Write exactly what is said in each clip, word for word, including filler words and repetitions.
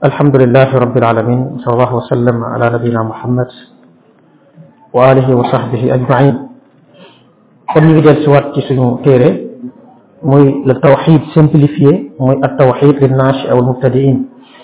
alhamdulillahi rabbil alamin sallallahu wa sallam ala nabina muhammad wa alihi wa sahbihi ajmain. kon ñu ngi del si waat ci suñu téere muy le tawxid simplifié muy at tawxid lin naashi aw al mubtadiin.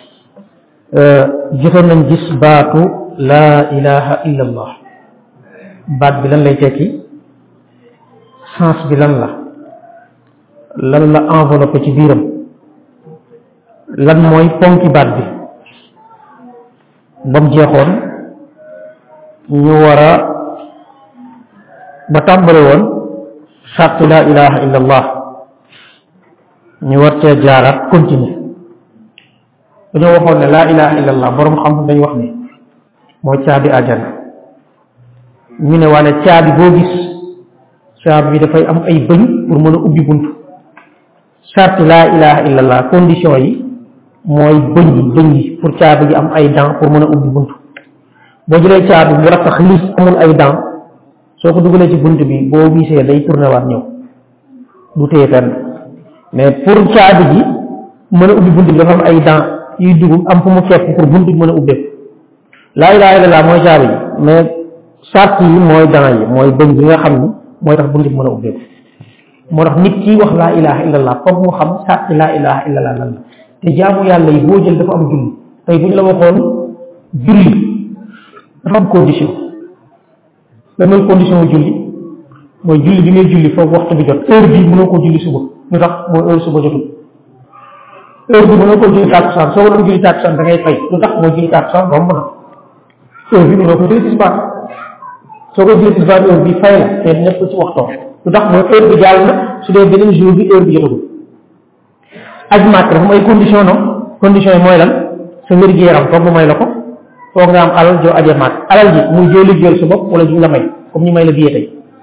jotoon nañ gis baatu laa ilaha illa allah. baat bi lan lay tekki, sens bi lan la, lan la enveloppé ci biiram, lan mooy ponki baat bi. ba mu jeexoon ñu war a ba tàmbale woon sàrt laa ilaha illa allah, ñu war cee jaaraat continuer. dañoo waxoon ne laa ilaha illa allah boroom xam dañu wax ne mooy caabi àjjana. ñu ne waane caabi boo gis caabi bi dafay am ay bëñ pour mën a ubbi bunt. sàrt laa ilaha illa allah condition yi mooy bëñ yi bëñ yi pour caabi gi am ay dents pour mën a ubbi bunt. boo jëlee caabi mu rattax liis amul ay dents, soo ko dugalee ci bunt bi boo wiisee day tourné waat ñëw, du téye fenn. mais pour caabi gi mën a ubbi bunt bi dafa am ay dents yuy dugg am fu mu fekk pour bunt bi mën a ubbeeku. laa ilaha illallah mooy caabi gi, mais sart yi mooy dents yi mooy bëñ bi nga xam ni mooy tax bunt bi mën a ubbeeku. moo tax nit ki wax laa ilaha illallah foog mu xam sart laa ilaha illallah lan la. te jaamu yàlla yi boo jël dafa am julli. tey bu ñu la waxoon julli dafa am condition. lan mooy condition wu julli mooy julli bi ngay julli foog waxtu bi jot. heure bii mënoo ko julli suba lu tax mooy heure suba jotul. heure bi mënoo ko julli tàkkusaan, soo ko doon julli tàkkusaan da ngay fay lu tax mooy julli tàkkusaan romb na. heure bi mënoo ko julli tisbaar, soo ko julli tisbaar heure bi fay la te nekk ci waxtoom lu tax mooy heure bi jàll na. su dee beneen jour bi heure bi jotagul. aj màkk dafa may condition non condition yi mooy lan, sa wér-gu-yaram foog mu may la ko, foog nga am alal joo ajee màkk. alal ji muy joo liggéeyal sa bopp wala ju la may comme ñu may la billet tey.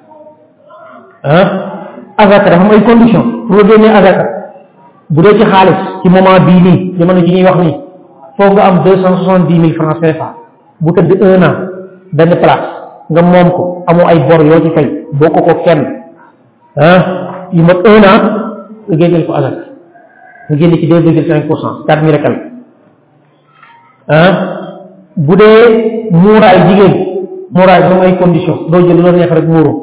ah azaka dafa may condition pour nga génnee azaka. bu dee ci xaalis ci moment bii nii jamono ji ñuy wax nii foog nga am deux cent soixante dix mille francs C F A bu tëdd un an benn place nga moom ko amoo ay bor yoo ci fay bokk ko kenn ah yu mat un an nga génneel ko azaka. nga génne ci deux virgule cinq pour cent quatre mille rekal ah bu dee muuraay jigéen muuraay ba ay condition doo jël loolu neex rek muuru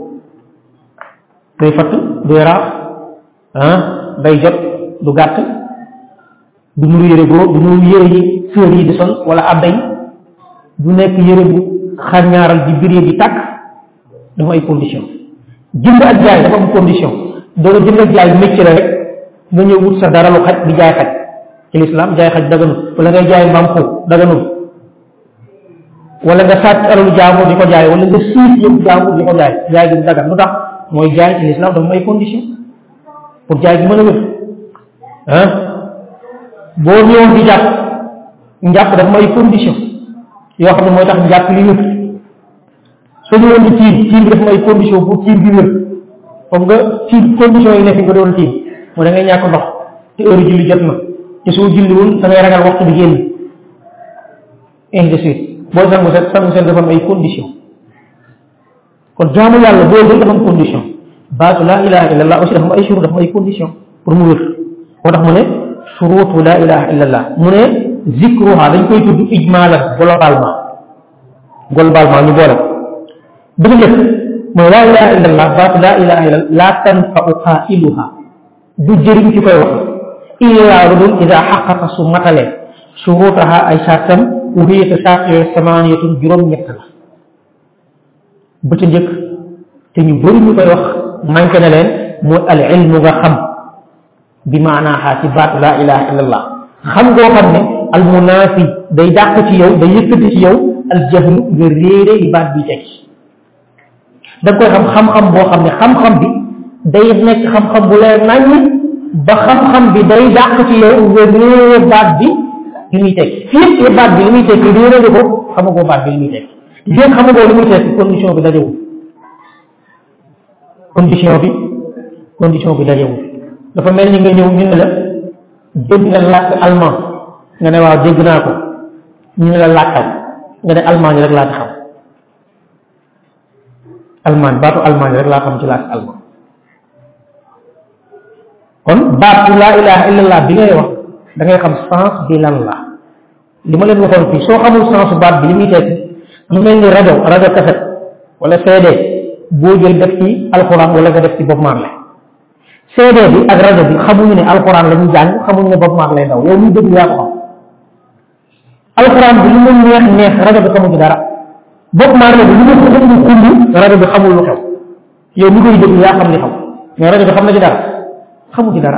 day fatt du yaraax ah day jot du gàtt du nuru yére góor du nuru yére yi sœur yi di sol wala abday du nekk yére bu xarñaaral di biree di tàkk. dafa ay condition. jënd ak jaay dafa am condition. doo jënd ak jaay métier la rek nga ñëw wut sa dara lu xaj di jaay xaj. ci lislaam jaay xaj daganul wala ngay jaay mbaam xuux daganul wala nga sàcc alalu jaamu di ko jaay wala nga siif yëpp jaamu di ko jaay jaay gi du dagan lu tax mooy jaay ci lislaam dafa may condition pour jaay gi mën a wér. ah boo ñëwoon di jàpp njàpp dafa may condition yoo xam ne mooy tax njàpp li wér. soo ñëwoon di tiim tiim bi dafa may condition pour tiim bi wér. comme nga tiim condition yi nekk nga doon tiim moo da ngay ñàkk ndox te heure julli jot na te soo julliwul da ngay ragal waxtu bi génn ainsi de suite. booy sangu set sangu set dafa am ay condition. kon jaamu yàlla boo jël dafa am condition. baatu laa ilaha illallah aussi dafa am ay shurut dafa am ay condition pour mu wér. moo tax mu ne shurutu laa ilaha illallah mu ne zikruha dañ koy tudd ijmaalan globalement globalement ñu boole bi nga njëkk mooy laa ilaha illallah baatu laa ilaha illallah laa tanfau qailuha du jëriñ ci koy wax illaa lu dul ida xaqaqa su matalee shurutaha ay sartam uhiyata sart yooyu samaaniyatun juróom-ñett la. ba ca njëkk te ñu bëri ñu koy wax manqué na leen mooy al ilmu nga xam bi maanaaha ci baatu laa ilaha illallah xam ngoo xam ne al munaafi day dàq ci yow day yëkkati ci yow al jahlu nga réere li baat bi teg. da nga koy xam xam-xam boo xam ne xam-xam bi day nekk xam-xam bu leer naññ ba xam-xam bi day dàq ci yow nga réere baat bi li muy teg. fii baat bi li muy teg réere nga ko xamagoo baat bi li muy teg. jéem xamagoo li muy teg condition bi dajewul condition bi condition bi dajewul. dafa mel ni nga ñëw ñu ne la dégg nga làkk allemand nga ne waaw dégg naa ko ñu ne la làkkal nga ne allemand rek laa ci xam. allemand baatu allemand rek laa xam ci làkk allemand. kon baatu laa ilaha illallah bi ngay wax da ngay xam sens bi lan la li ma leen waxoon fii soo xamul sensu baat bi li muy tekki mu mel ni rajo rajo kaset wala C D boo jël def ci alxuraan wala nga def ci Bob Marley C D bi ak rajo bi xamuñu ne alxuraan la ñuy jàng xamuñu ne Bob Marley daw yow muy dégg yaa ko xam alxuraan bi li mu neex neex rajo bi xamu ci dara Bob Marley bi li mu xumb xumb rajo bi xamul lu xew yow mi koy dégg yaa xam li xam mais rajo bi xam na ci dara xamu ci dara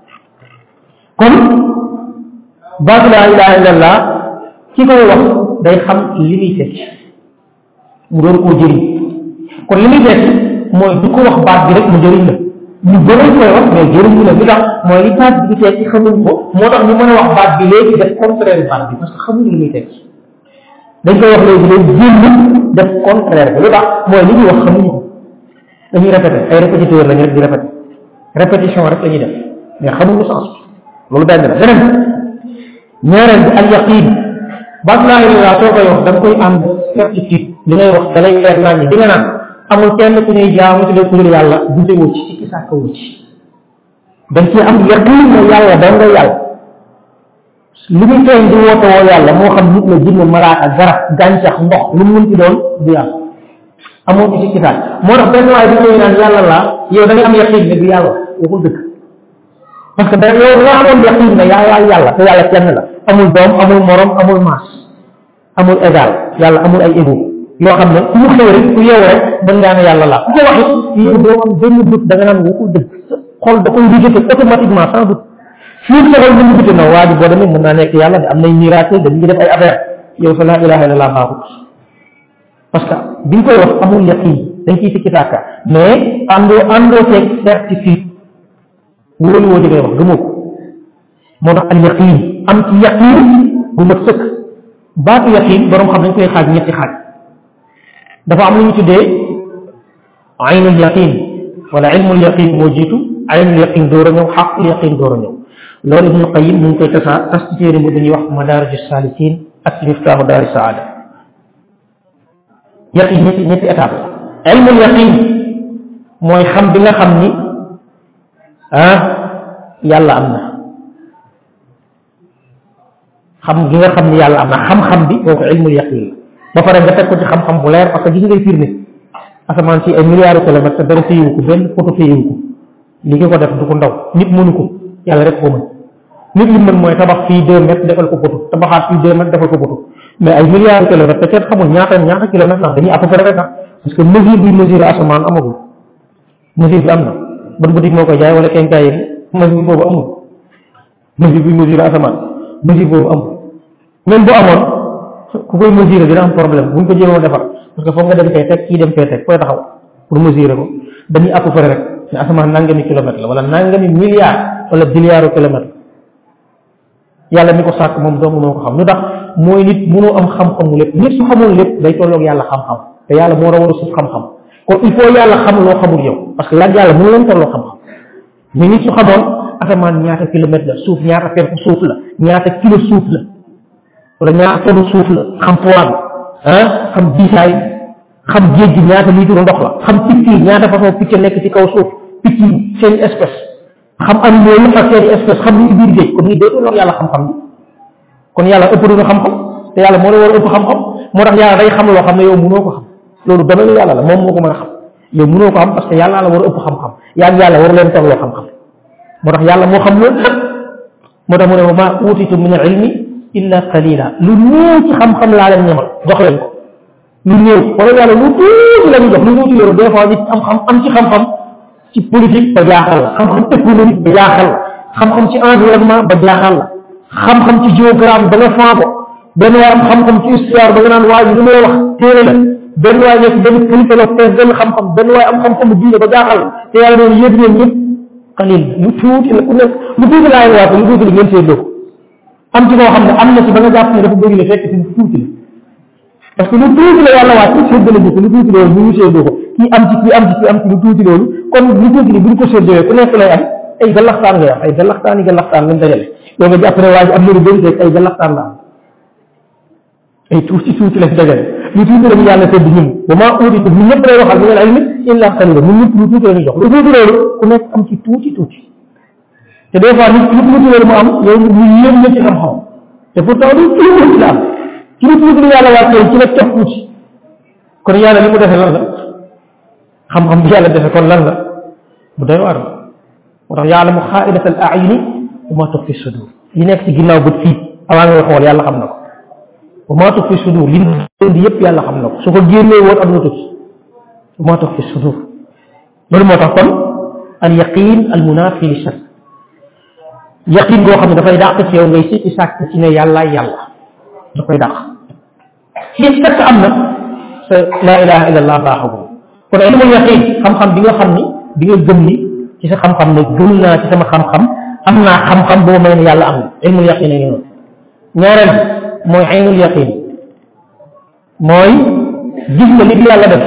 kon baatu laa ilaha illallah ki koy wax day xam li muy tekki mu doon koo jëriñ kon li muy tekki mooy du ko wax baat bi rek mu jëriñ la ñu bëri koy wax mais jëriñu la li tax mooy li baat bi di tekki xamuñ ko moo tax ñu mën a wax baat bi léegi def contraire baat bi parce que xamuñu li muy tekki dañ koy wax léegi day génn def contraire bi lu tax mooy li ñuy wax xamuñu ko dañuy répété ay répétiteur lañu rek di répété répétition rek la ñuy def mais xamuñu sens loolu benn la beneen ñaareel bi al yaqin baat laa ilaaha soo koy wax da nga koy am certitude li ngay wax da lay leer naa ñi di nga naan amul kenn ku ñuy jaamu ci ku dul yàlla dute wu ci ci sàkk wu ci dañ ci am yaqin ne yàlla da nga yàlla li muy feeñ di woote woo yàlla moo xam nit la jinne malaaka garab gàncax ndox lu mu mën ci doon du yàlla amoo ci ci sàkk moo tax benn waaye bi ñëw naan yàlla laa yow da nga am yaqin ne du yàlla waxul dëgg parce que da yow nga amoon yaqin ne yaa yaa yàlla te yàlla kenn la amul doom amul morom amul maas amul égal yàlla amul ay égo yoo xam ne ku mu xëw rek ku yeewu rek mën ngaa ne yàlla laa ku ko waxit yow doo am benn doute da nga naan waxul dëgg xol da koy rejeté automatiquement sans doute fii sa xol mënu biti na waa ji boo demee mën naa nekk yàlla de am nay miracle dañuy def ay affaire yow sa laa ilaha illallah baaxut parce que bi nga koy wax amul yaqin dañ ciy sikki sàkka mais àndoo àndoo ceeg certitude wóolu woo ngay wax gëmoo ko moo tax al yaqin am ci yaqin bu mat sëkk baatu yaqin borom xam dañ koy xaaj ñetti xaaj dafa am lu ñu tuddee aynul yaqin wala ilmul yaqin moo jiitu aynul yaqin door a ñëw xaqul yaqin door a ñëw loolu Ibnul Qayyim mu ngi koy tasaa tas ci téere bi dañuy wax madaariju saalikiin ak ci miftaahu daari saada yaqin ñetti ñetti étape la ilmul yaqin mooy xam bi nga xam ni ah yàlla am na xam gi nga xam ni yàlla am na xam-xam bi kooku ilmul yaqin la ba pare nga teg ko ci xam-xam bu leer parce que gis ngay firnde asamaan si ay milliards de kilomètres te dara téyewu ko benn photo téyewu ko li nga ko def du ko ndaw nit mënu ko yàlla rek ko mën nit li mën mooy tabax fii deux mètres defal ko photo tabaxaat fii deux mètres defal ko photo mais ay milliards de kilomètres te kenn xamul ñaata ñaata kilomètres la dañuy à peu près rek parce que mesure bi mesure asamaan amagul mesure bi am na ban boutique moo koy jaay wala kenkaay mesure boobu amul mesure bi mesure asamaan mesure boobu amul même bu amoon ku koy mesurer dina am problème buñ ko jéemoo defar parce que foog nga dem fee teg kii dem fee teg fooy taxaw pour mesurer ko dañuy à peu près rek ne asamaan nangami kilomètre la wala nangami milliard wala billiard kilomètre yàlla mi ko sàkk moom dong moo ko xam lu tax mooy nit mënoo am xam-xamu lépp nit su xamul lépp day tolloog yàlla xam-xam te yàlla moo rawal suuf xam-xam kon il faut yàlla xam loo xamul yow parce que laaj yàlla mënu leen tolloo xam-xam mais nit su xamoon asamaan ñaata kilomètre la suuf ñaata fenn suuf la ñaata kilo suuf la wala ñaata tonne suuf la xam poids bi ah xam diisaay xam géej gi ñaata litre ndox la xam picc yi ñaata façon picc nekk ci kaw suuf picc yi seen espèce xam animaux yi ak seen espèce xam ni biir géej kon ni dootu loolu yàlla xam-xam bi kon yàlla ëpp na xam-xam te yàlla moo la war a ëpp xam-xam moo tax yàlla day xam loo xam ne yow mënoo ko xam loolu domaine yàlla la moom moo ko mën a xam yow mënoo ko xam parce que yàlla la war a ëpp xam-xam yaa ngi yàlla waru leen tolloo xam-xam moo tax yàlla moo xam loolu lépp moo tax mu ne wa maa uutitu min al ilmi illa qalila lu néew ci xam-xam laa leen ñamal jox leen ko lu néew wala yàlla lu tuuti la ñu jox lu tuuti loolu des fois nit am xam am ci xam-xam ci politique ba jaaxal la xam-xam économique ba jaaxal la xam-xam ci environnement ba jaaxal la xam-xam ci géographie ba nga faa ko benn waay am xam-xam ci histoire ba nga naan waa ji li may wax téere la benn waay nekk benn kilifa la fees benn xam-xam benn waay am xam-xamu diine ba jaaxal la te yàlla noonu yéen ñeen ñëpp xalil lu tuuti la ku nekk lu tuuti laay waate lu tuuti la ngeen seetloo ko am ci koo xam ne am na ci ba nga jàpp ne dafa bëri la fekk ci lu tuuti la parce que lu tuuti la yàlla waat ci séddale bi lu tuuti loolu bu ñu séddoo ko kii am ci kii am ci kii am ci lu tuuti loolu kon lu tuuti li bu ñu ko séddoo ku nekk lay am ay galaxtaan ngay am ay galaxtaan yi galaxtaan lañ dajale yow nga jàpp ne waa ji am na lu bëri rek ay galaxtaan la am ay tuuti tuuti lañ dajale lu tuuti la ñu yàlla sédd ñun ba maa uutitu ñun ñëpp lay waxal ñu ne ay nit illa qalila ñun ñëpp lu tuuti la ñu jox lu tuuti loolu ku nekk am ci tuuti tuuti te des fois nit lu tuuti loolu mu am yow ñu yéem na ci xam-xam te pourtant du ci islam ci lu tuuti yàlla wàccee ci la topp tuuti kon yàlla li mu defee lan la xam-xam bi yàlla defee kon lan la bu doy waar la moo tax ya'lamu xaa'inata al a'yuni wa ma tuxfi sudur li nekk ci ginnaaw bët fii avant ngay xool yàlla xam na ko wa ma tuxfi sudur li di yëpp yàlla xam na ko su ko génnee woon aduna tukki wa ma tuxfi sudur loolu moo tax kon al yaqin al munafi li shakk yaqin goo xam ne dafay dàq ci yow ngay sikki sàkk ci ne yàlla yàlla da koy dàq ci fekk am na sa laa ilaha illa allah baaxagul kon ilmul yaqin xam-xam bi nga xam ni bi nga gëm ni ci sa xam-xam ne gëm naa ci sama xam-xam am naa xam-xam boo may ne yàlla am na ilmul yaqin a ngi noonu ñaareel mooy aynul yaqin mooy gis nga li yàlla def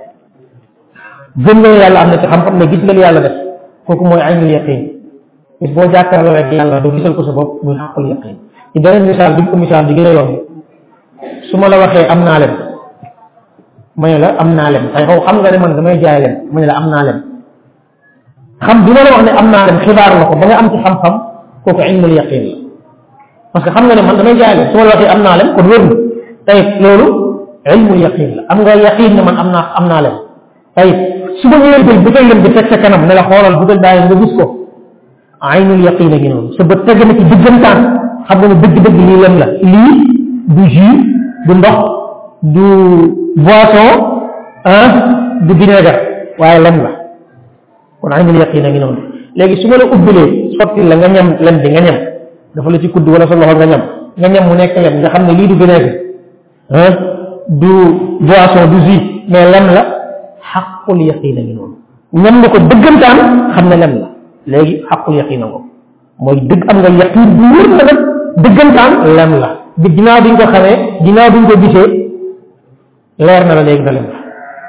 gëm nga ne yàlla am na ci xam-xam ne gis nga li yàlla def kooku mooy aynul yaqin bis boo jàkkaarloo rek yàlla doo gisal ko sa bopp muy xaqul yaqin ci beneen misaal bi ko misaal di gën a yomb su ma la waxee am naa lem ma ne la am naa lem tey xaw xam nga ne man damay jaay lem ma ne la am naa lem xam bi ma la wax ne am naa lem xibaar la ko ba nga am ci xam-xam kooku ilmul yaqin la parce que xam nga ne man damay jaay lem su ma la waxee am naa lem kon wér na tey loolu ilmul yaqin la am nga yaqin ne man am naa am naa lem tey su ma ñëwee jël butéel lem bi teg sa kanam ne la xoolal butéel daay nga gis ko aynul yaqin a ngi noonu sa bët teg na ci diggantaan xam nga ne dëgg-dëgg lii lem la lii du jus du ndox du boisson ah du vinaigre waaye lem la kon aynul yaqin a ngi noonu léegi su ma la ubbilee sotti la nga ñam lem bi nga ñam dafa la ci kudd wala sa loxo nga ñam nga ñam mu nekk lem nga xam ne lii du vinaigre ah du boisson du jus mais lem la xaqul yaqin a ngi noonu ñam nga ko dëggantaan xam ne lem la léegi xaqul yaqin a ngo mooy dëgg am nga yaqin bu wér na nag dëggantaan lem la bi ginnaaw bi nga ko xamee ginnaaw bi nga ko gisee leer na la léegi nga lem la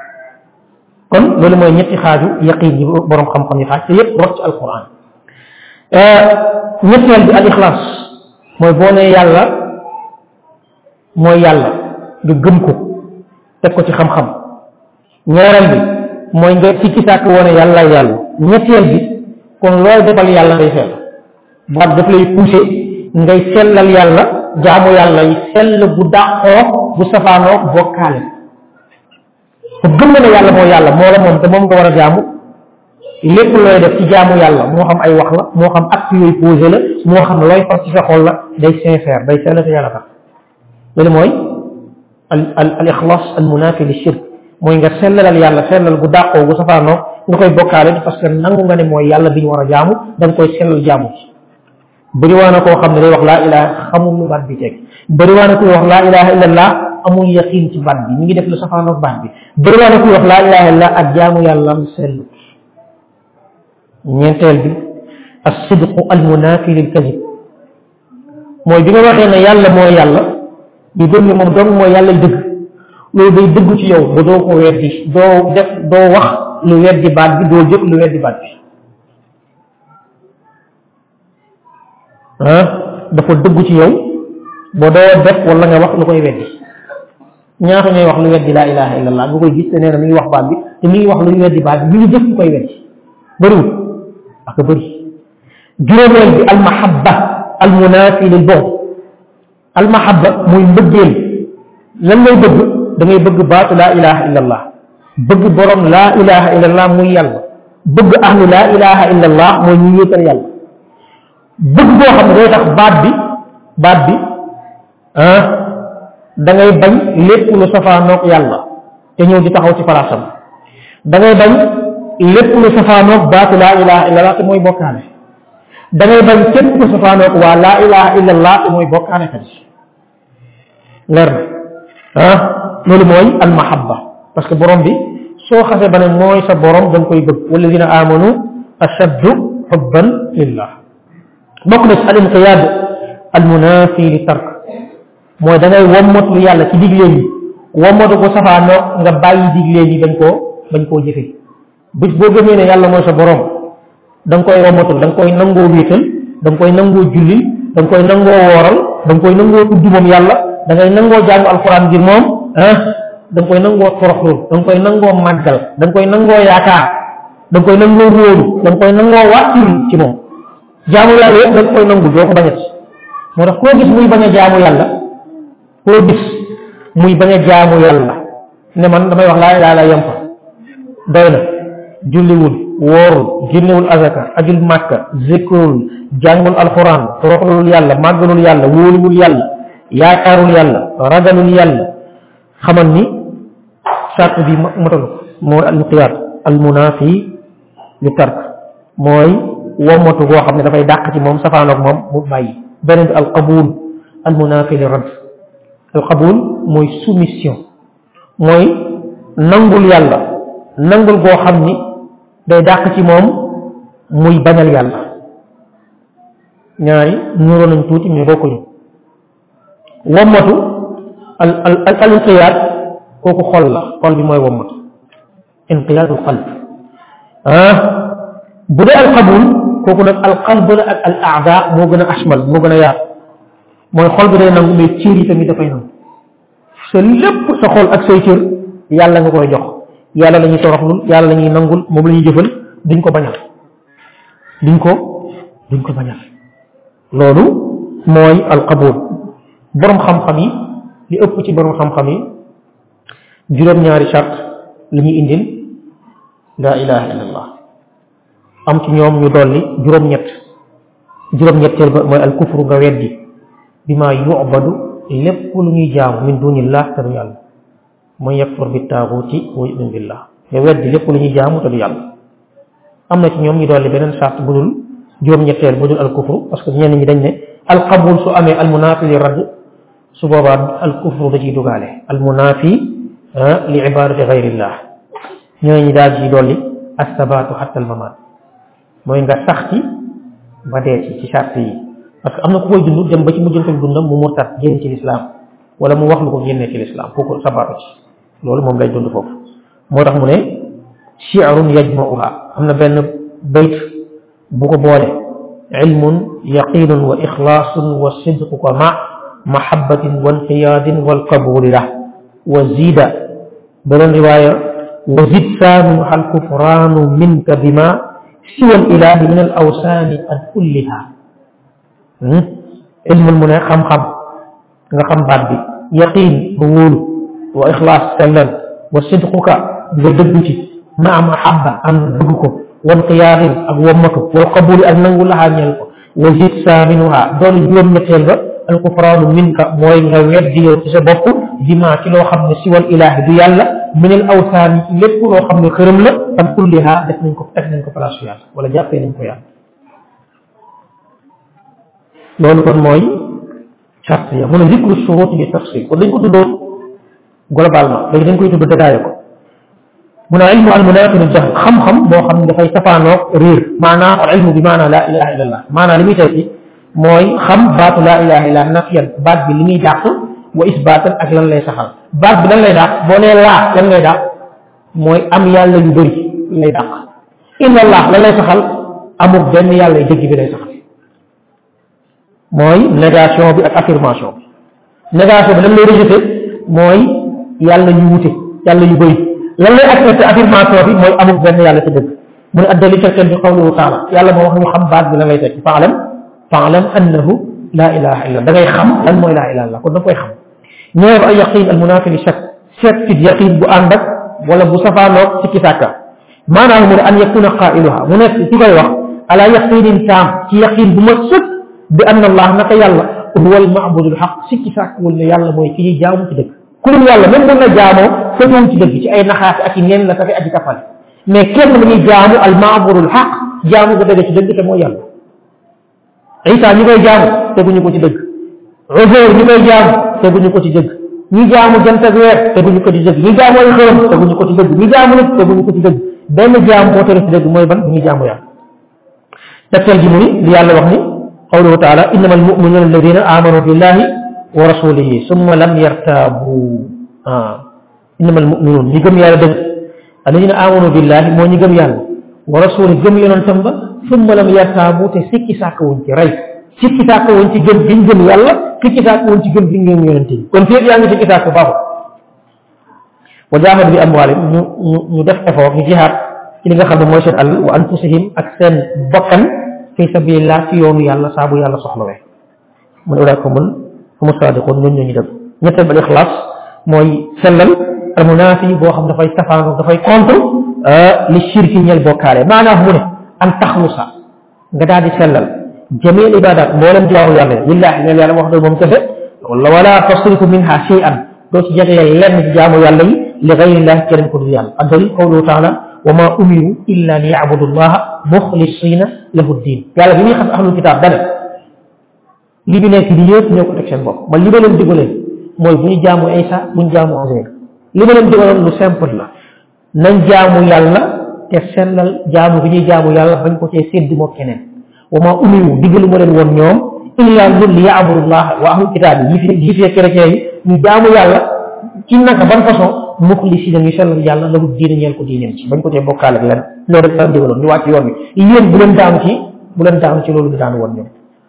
kon loolu mooy ñetti xaaju yaqin yi borom xam-xam yi xaaj te yépp rot ci alquran ñetteel bi al ixlaas mooy boo nee yàlla mooy yàlla nga gëm ko teg ko ci xam-xam ñaareel bi mooy nga ci ci sàkk woone yàlla yàlla ñetteel bi kon looy defal yàlla ngay sell baat daf lay poussé ngay sellal yàlla jaamu yàlla yi sell bu dàqoo bu safaanoo bokkaale te gëm na ne yàlla moo yàlla moo la moom te moom nga war a jaamu lépp looy def ci jaamu yàlla moo xam ay wax la moo xam acte yooyu posé la moo xam looy far ci sa xol la day sincère day sell te yàlla tax loolu mooy al al al ixlaas al munafi li shirk mooy nga sellalal yàlla sellal bu dàqoo bu safaanoo nga koy bokkaale parce que nangu nga ne mooy yàlla bi ñu war a jaamu da nga koy sellal jaamu ci bëri waa na koo xam ne day wax laa ilaha xamul lu baat bi teg bëri waa na kuy wax laa ilaha illallah amul yaqin ci baat bi mi ngi def lu safaanoog baat bi bëri waa na kuy wax laa ilaha illallah ak jaamu yàlla am sellu ñeenteel bi as-sidqu al-munafi lil kadib mooy bi nga waxee ne yàlla mooy yàlla ñu gëm ne moom dong mooy yàlla dëgg loolu day dëgg ci yow ba doo ko weddi doo def doo wax lu weddi baat bi doo jëf lu weddi baat bi ah dafa dëgg ci yow ba doo def wala nga wax lu koy weddi ñaata ñooy wax lu weddi laa ilaha illallah nga koy gis te nee na mi ngi wax baat bi te mi ngi wax lu weddi baat bi mi ngi jëf lu koy weddi bëriwul ak bëri juróomeel bi almahabba almunafi lil bughd almahabba muy mbëggeel lan ngay bëgg da ngay bëgg baatu laa ilaha illallah bëgg borom laa ilaha illallah muy yàlla bëgg ahlu laa ilaha illallah mooy ñu yéetal yàlla bëgg boo xam ne day tax baat bi baat bi ah da ngay bañ lépp lu safaanoog yàlla te ñëw di taxaw ci palaasam da ngay bañ lépp lu safaanoog baatu laa ilaha illallah te mooy bokkaale da ngay bañ képp ku safaanoog waa laa ilaha illallah te mooy bokkaale kat leer na ah loolu mooy almahabba parce que borom bi soo xasee ba ne mooy sa borom da nga koy bëgg walladina amanu ashaddu hubban lillah bokk na ci al inqiyaad al munafi li tark mooy da ngay wommatu yàlla ci digleen yi wommatu ko safaanoo nga bàyyi digleen yi bañ koo bañ koo jëfe bis boo gëmee ne yàlla mooy sa borom da nga koy wommatul da nga koy nangoo wéetal da nga koy nangoo jullil da nga koy nangoo wooral da nga koy nangoo tudd moom yàlla da ngay nangoo jàng alquran ngir moom ah da nga koy nangoo toroxlul da nga koy nangoo màggal da nga koy nangoo yaakaar da nga koy nangoo róolu da nga koy nangoo wàccul ci moom jaamu yàlla yëpp da nga koy nangu doo ko bañat moo tax koo gis muy bañ a jaamu yàlla koo gis muy bañ a jaamu yàlla ne man damay wax laa ilaaha illa yem fa doy na julliwul woorul génnewul azaka ajul màkka zikrul jàngul alxuraan toroxlul yàlla màggalul yàlla wóoluwul yàlla yaakaarul yàlla ragalul yàlla xamal ni sart bi matalu mooy almuqiyaat almunaafi li tark mooy womatu goo xam ne dafay dàq ci moom safaanoog moom mu bàyyi beneen bi alqabul almunaafi li radd alqabul mooy soumission mooy nangul yàlla nangul goo xam ni day dàq ci moom muy bañal yàlla ñaari ñuroo nañ tuuti mais bokkuñu wommatu al al al inqiyaad kooku xol la xol bi mooy wommatu inqiyaadul qalb ah bu dee alqabul kooku nag alqalb la ak al aada moo gën a ashmal moo gën a yaatu mooy xol bi day nangu mais cër yi tamit dafay nangu sa lépp sa xol ak say cër yàlla nga koy jox yàlla la ñuy toroxlul yàlla la ñuy nangul moom la ñuy jëfal duñ ko bañal duñ ko duñ ko bañal loolu mooy alqabul boroom xam-xam yi li ëpp ci boroom xam-xam yi juróom-ñaari charte la ñuy indil laa ilaha illallah am ci ñoom ñu dolli juróom-ñett juróom-ñetteel ba mooy alkufru nga weddi bi maa yu'badu lépp lu ñuy jaamu min dunillah te du yàlla mooy yakfur bi taaguuti wa yu'min billah nga weddi lépp lu ñuy jaamu te du yàlla am na ci ñoom ñu dolli beneen charte bu dul juróom-ñetteel bu dul alkufru parce que ñenn ñi dañ ne alqabul su amee almunaafi li radd su boobaa alkufru da ciy dugaale almunaafi li ibadati gayrillah ñooñu ñi daal ciy dolli assabaatu xatta almamaat mooy nga sax ci ba dee ci ci charte yi parce que am na ku koy dund dem ba ci mujjantal dundam mu murtat génn ci lislaam wala mu wax lu ko génnee ci lislaam kooku sabaatu ci loolu moom lay dund foofu moo tax mu ne shi'run yajma'uha am na benn bayt bu ko boole ilmun yaqinun wa ixlaasun wa sidqu ko ma mahabbatin wa inqiyaadin wal qabuli la wa zida beneen riwaaya wa zid saanu al kufraanu minka bima siwa al ilahi min al awsaani an kulliha ilmun mu ne xam-xam nga xam baat bi yaqin ba wóolu wa ixlaas sellal wa sidquka nga dëggu ci ma mahabba am dëgg ko wan qiyaadin ak wommatu wal qabuli ak nangu laxaa ñeel ko wa zid saaminuha doon juróom-ñetteel ba alkufraanu minka mooy nga weddi yow ci sa bopp bima ci loo xam ne siwal ilaahi du yàlla minal awsaani ci lépp loo xam ne xërëm la am kulliha def nañ ko teg nañ ko place yàlla wala jàppee nañ ko yàlla loolu kon mooy charte ya mu ne zikru shuruut bi tafsil kon dañ ko tuddoon globalement léegi dañ koy tudd détaillé ko mu ne ilmu al munaafiru jahl xam-xam boo xam ne dafay safaanoog réer maanaam al ilmu bi maanaam laa ilaha illa allah maanaam li muy tekki mooy xam baatu laa ilaha illa nafiyan baat bi li muy dàq wa isbaatan ak lan lay saxal baat bi lan lay dàq boo nee laa lan ngay dàq mooy am yàlla yu bëri lay dàq illa allah lan lay saxal amul benn yàlla yu dëgg bi lay saxal mooy négation bi ak affirmation bi négation bi lan lay rejeté mooy yàlla yu wute yàlla yu bëri lan lay accepté affirmation bi mooy amul benn yàlla ci dëgg mu ne addali tegtal bi qawluhu taala yàlla moo wax ñu xam baat bi lan lay tekki faalam faalam annahu laa ilaha illa da ngay xam lan mooy laa ilaha illa kon da nga koy xam ñëw ay yaqin al munaafi li shakk certitude yaqin bu ànd ak wala bu safaanoog ci kisàkka maanaam mu ne an yakuna qailuha mu nekk ci koy wax ala yaqinin taam ci yaqin bu ma sëkk bi anna allah naka yàlla huwa al maabudul xaq si kisàkkawul ne yàlla mooy ki ñuy jaamu ci dëgg ku dul yàlla même bu la jaamoo fëtuwul ci dëgg ci ay naxaate ak i neen la tafi aji kafal mais kenn la ñuy jaamu al maabudul xaq jaamu ga dëgg ci dëgg te mooy yàlla Isa ñi koy jaamu teguñu ko ci dëgg Uzayr ñi koy jaamu teguñu ko ci dëgg ñi jaamu jant ak weer teguñu ko ci dëgg ñi jaamu ay xërëm teguñu ko ci dëgg ñi jaamu nit teguñu ko ci dëgg benn jaam boo tere ci dëgg mooy ban bu ñuy jaamu yàlla tegtal ji mu ni li yàlla wax ni qawluhu taala innama almuminuna alladina amanu billahi wa rasulihi summa lam yartaabu ah innama almuminun ñi gëm yàlla dëgg alladina amanu billahi moo ñi gëm yàlla wa rasulihi gëm yonentam ba summa lam yartaabu te sikki sàkkawuñ ci rey sikki sàkkawuñ ci gëm biñ gëm yàlla sikki sàkkawuñ ci gëm biñ gëm yonente bi kon féet yaa ngi sikki sàkk baaxul wa jaahadu bi amwaalim ñu ñu ñu def effort ñu jihaad ci li nga xam ne mooy seen àll wa anfusihim ak seen bakkan fi sabilillah ci yoonu yàlla saa bu yàlla soxlawee mu ne ulaa'ika humu saadiquun ñooñu ñoo ñu dëgg. ñetteel ba ixlaas mooy sellal al munaafi boo xam dafay safaanoo dafay contre li shirki ñel bokkaale maanaam mu ne an taxlusa nga daal di sellal jamil ibadat mboolem jaamu yàlla lillahi ñeel yàlla wax dëgg moom kese wala wala tasrifu minha shay'an doo ci jagleel lenn ci jaamu yàlla yi li gayrillahi keneen ko dul yàlla addali qawluhu taala wa ma umiru illa li yabudu llaha muxlisina lahu ddin yàlla bi ñuy xam ahlul kitaab dane li bi nekk di yëpp ñoo ko teg seen bopp man li ma leen digalee mooy bu ñu jaamu Isa bu ñu jaamu Uzayr li ma leen digaloon lu simple la nañ jaamu yàlla te sellal jaamu bi ñuy jaamu yàlla bañ ko cee séddi moo keneen wa ma umiru digalu ma leen woon ñoom illa li yabudu llaha wa ahlul kitaab yi fi yi fi chrétien yi ñu jaamu yàlla ci naka ban façon muxlisina ñu sellal yàlla lahu diine ñeel ko diineem ci bañ ko cee bokkaale ak lenn loolu rek la digaloon ñu wàcc yoon wi yéen bu leen daanu ci bu leen daanu ci loolu ñu daanu woon ñoom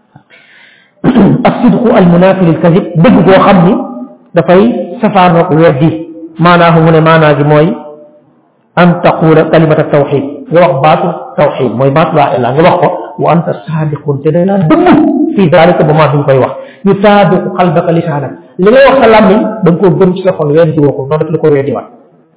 as-sidqu al-munaafi lil kadib dëgg koo xam ni dafay safaanoog weddi maanaahu mu ne maanaa gi mooy an taqula kalimata tawxid nga wax baatu tawxid mooy baatu laa ilaa nga wax ko wa anta saadiqun te day laa dëgg fii daalika ba maa duñ koy wax yu saabiqu qalbaka lisaanak li ngay wax sa làmmiñ da nga koo gëm ci sa xol weddi woo ko noonu rek la ko weddi waat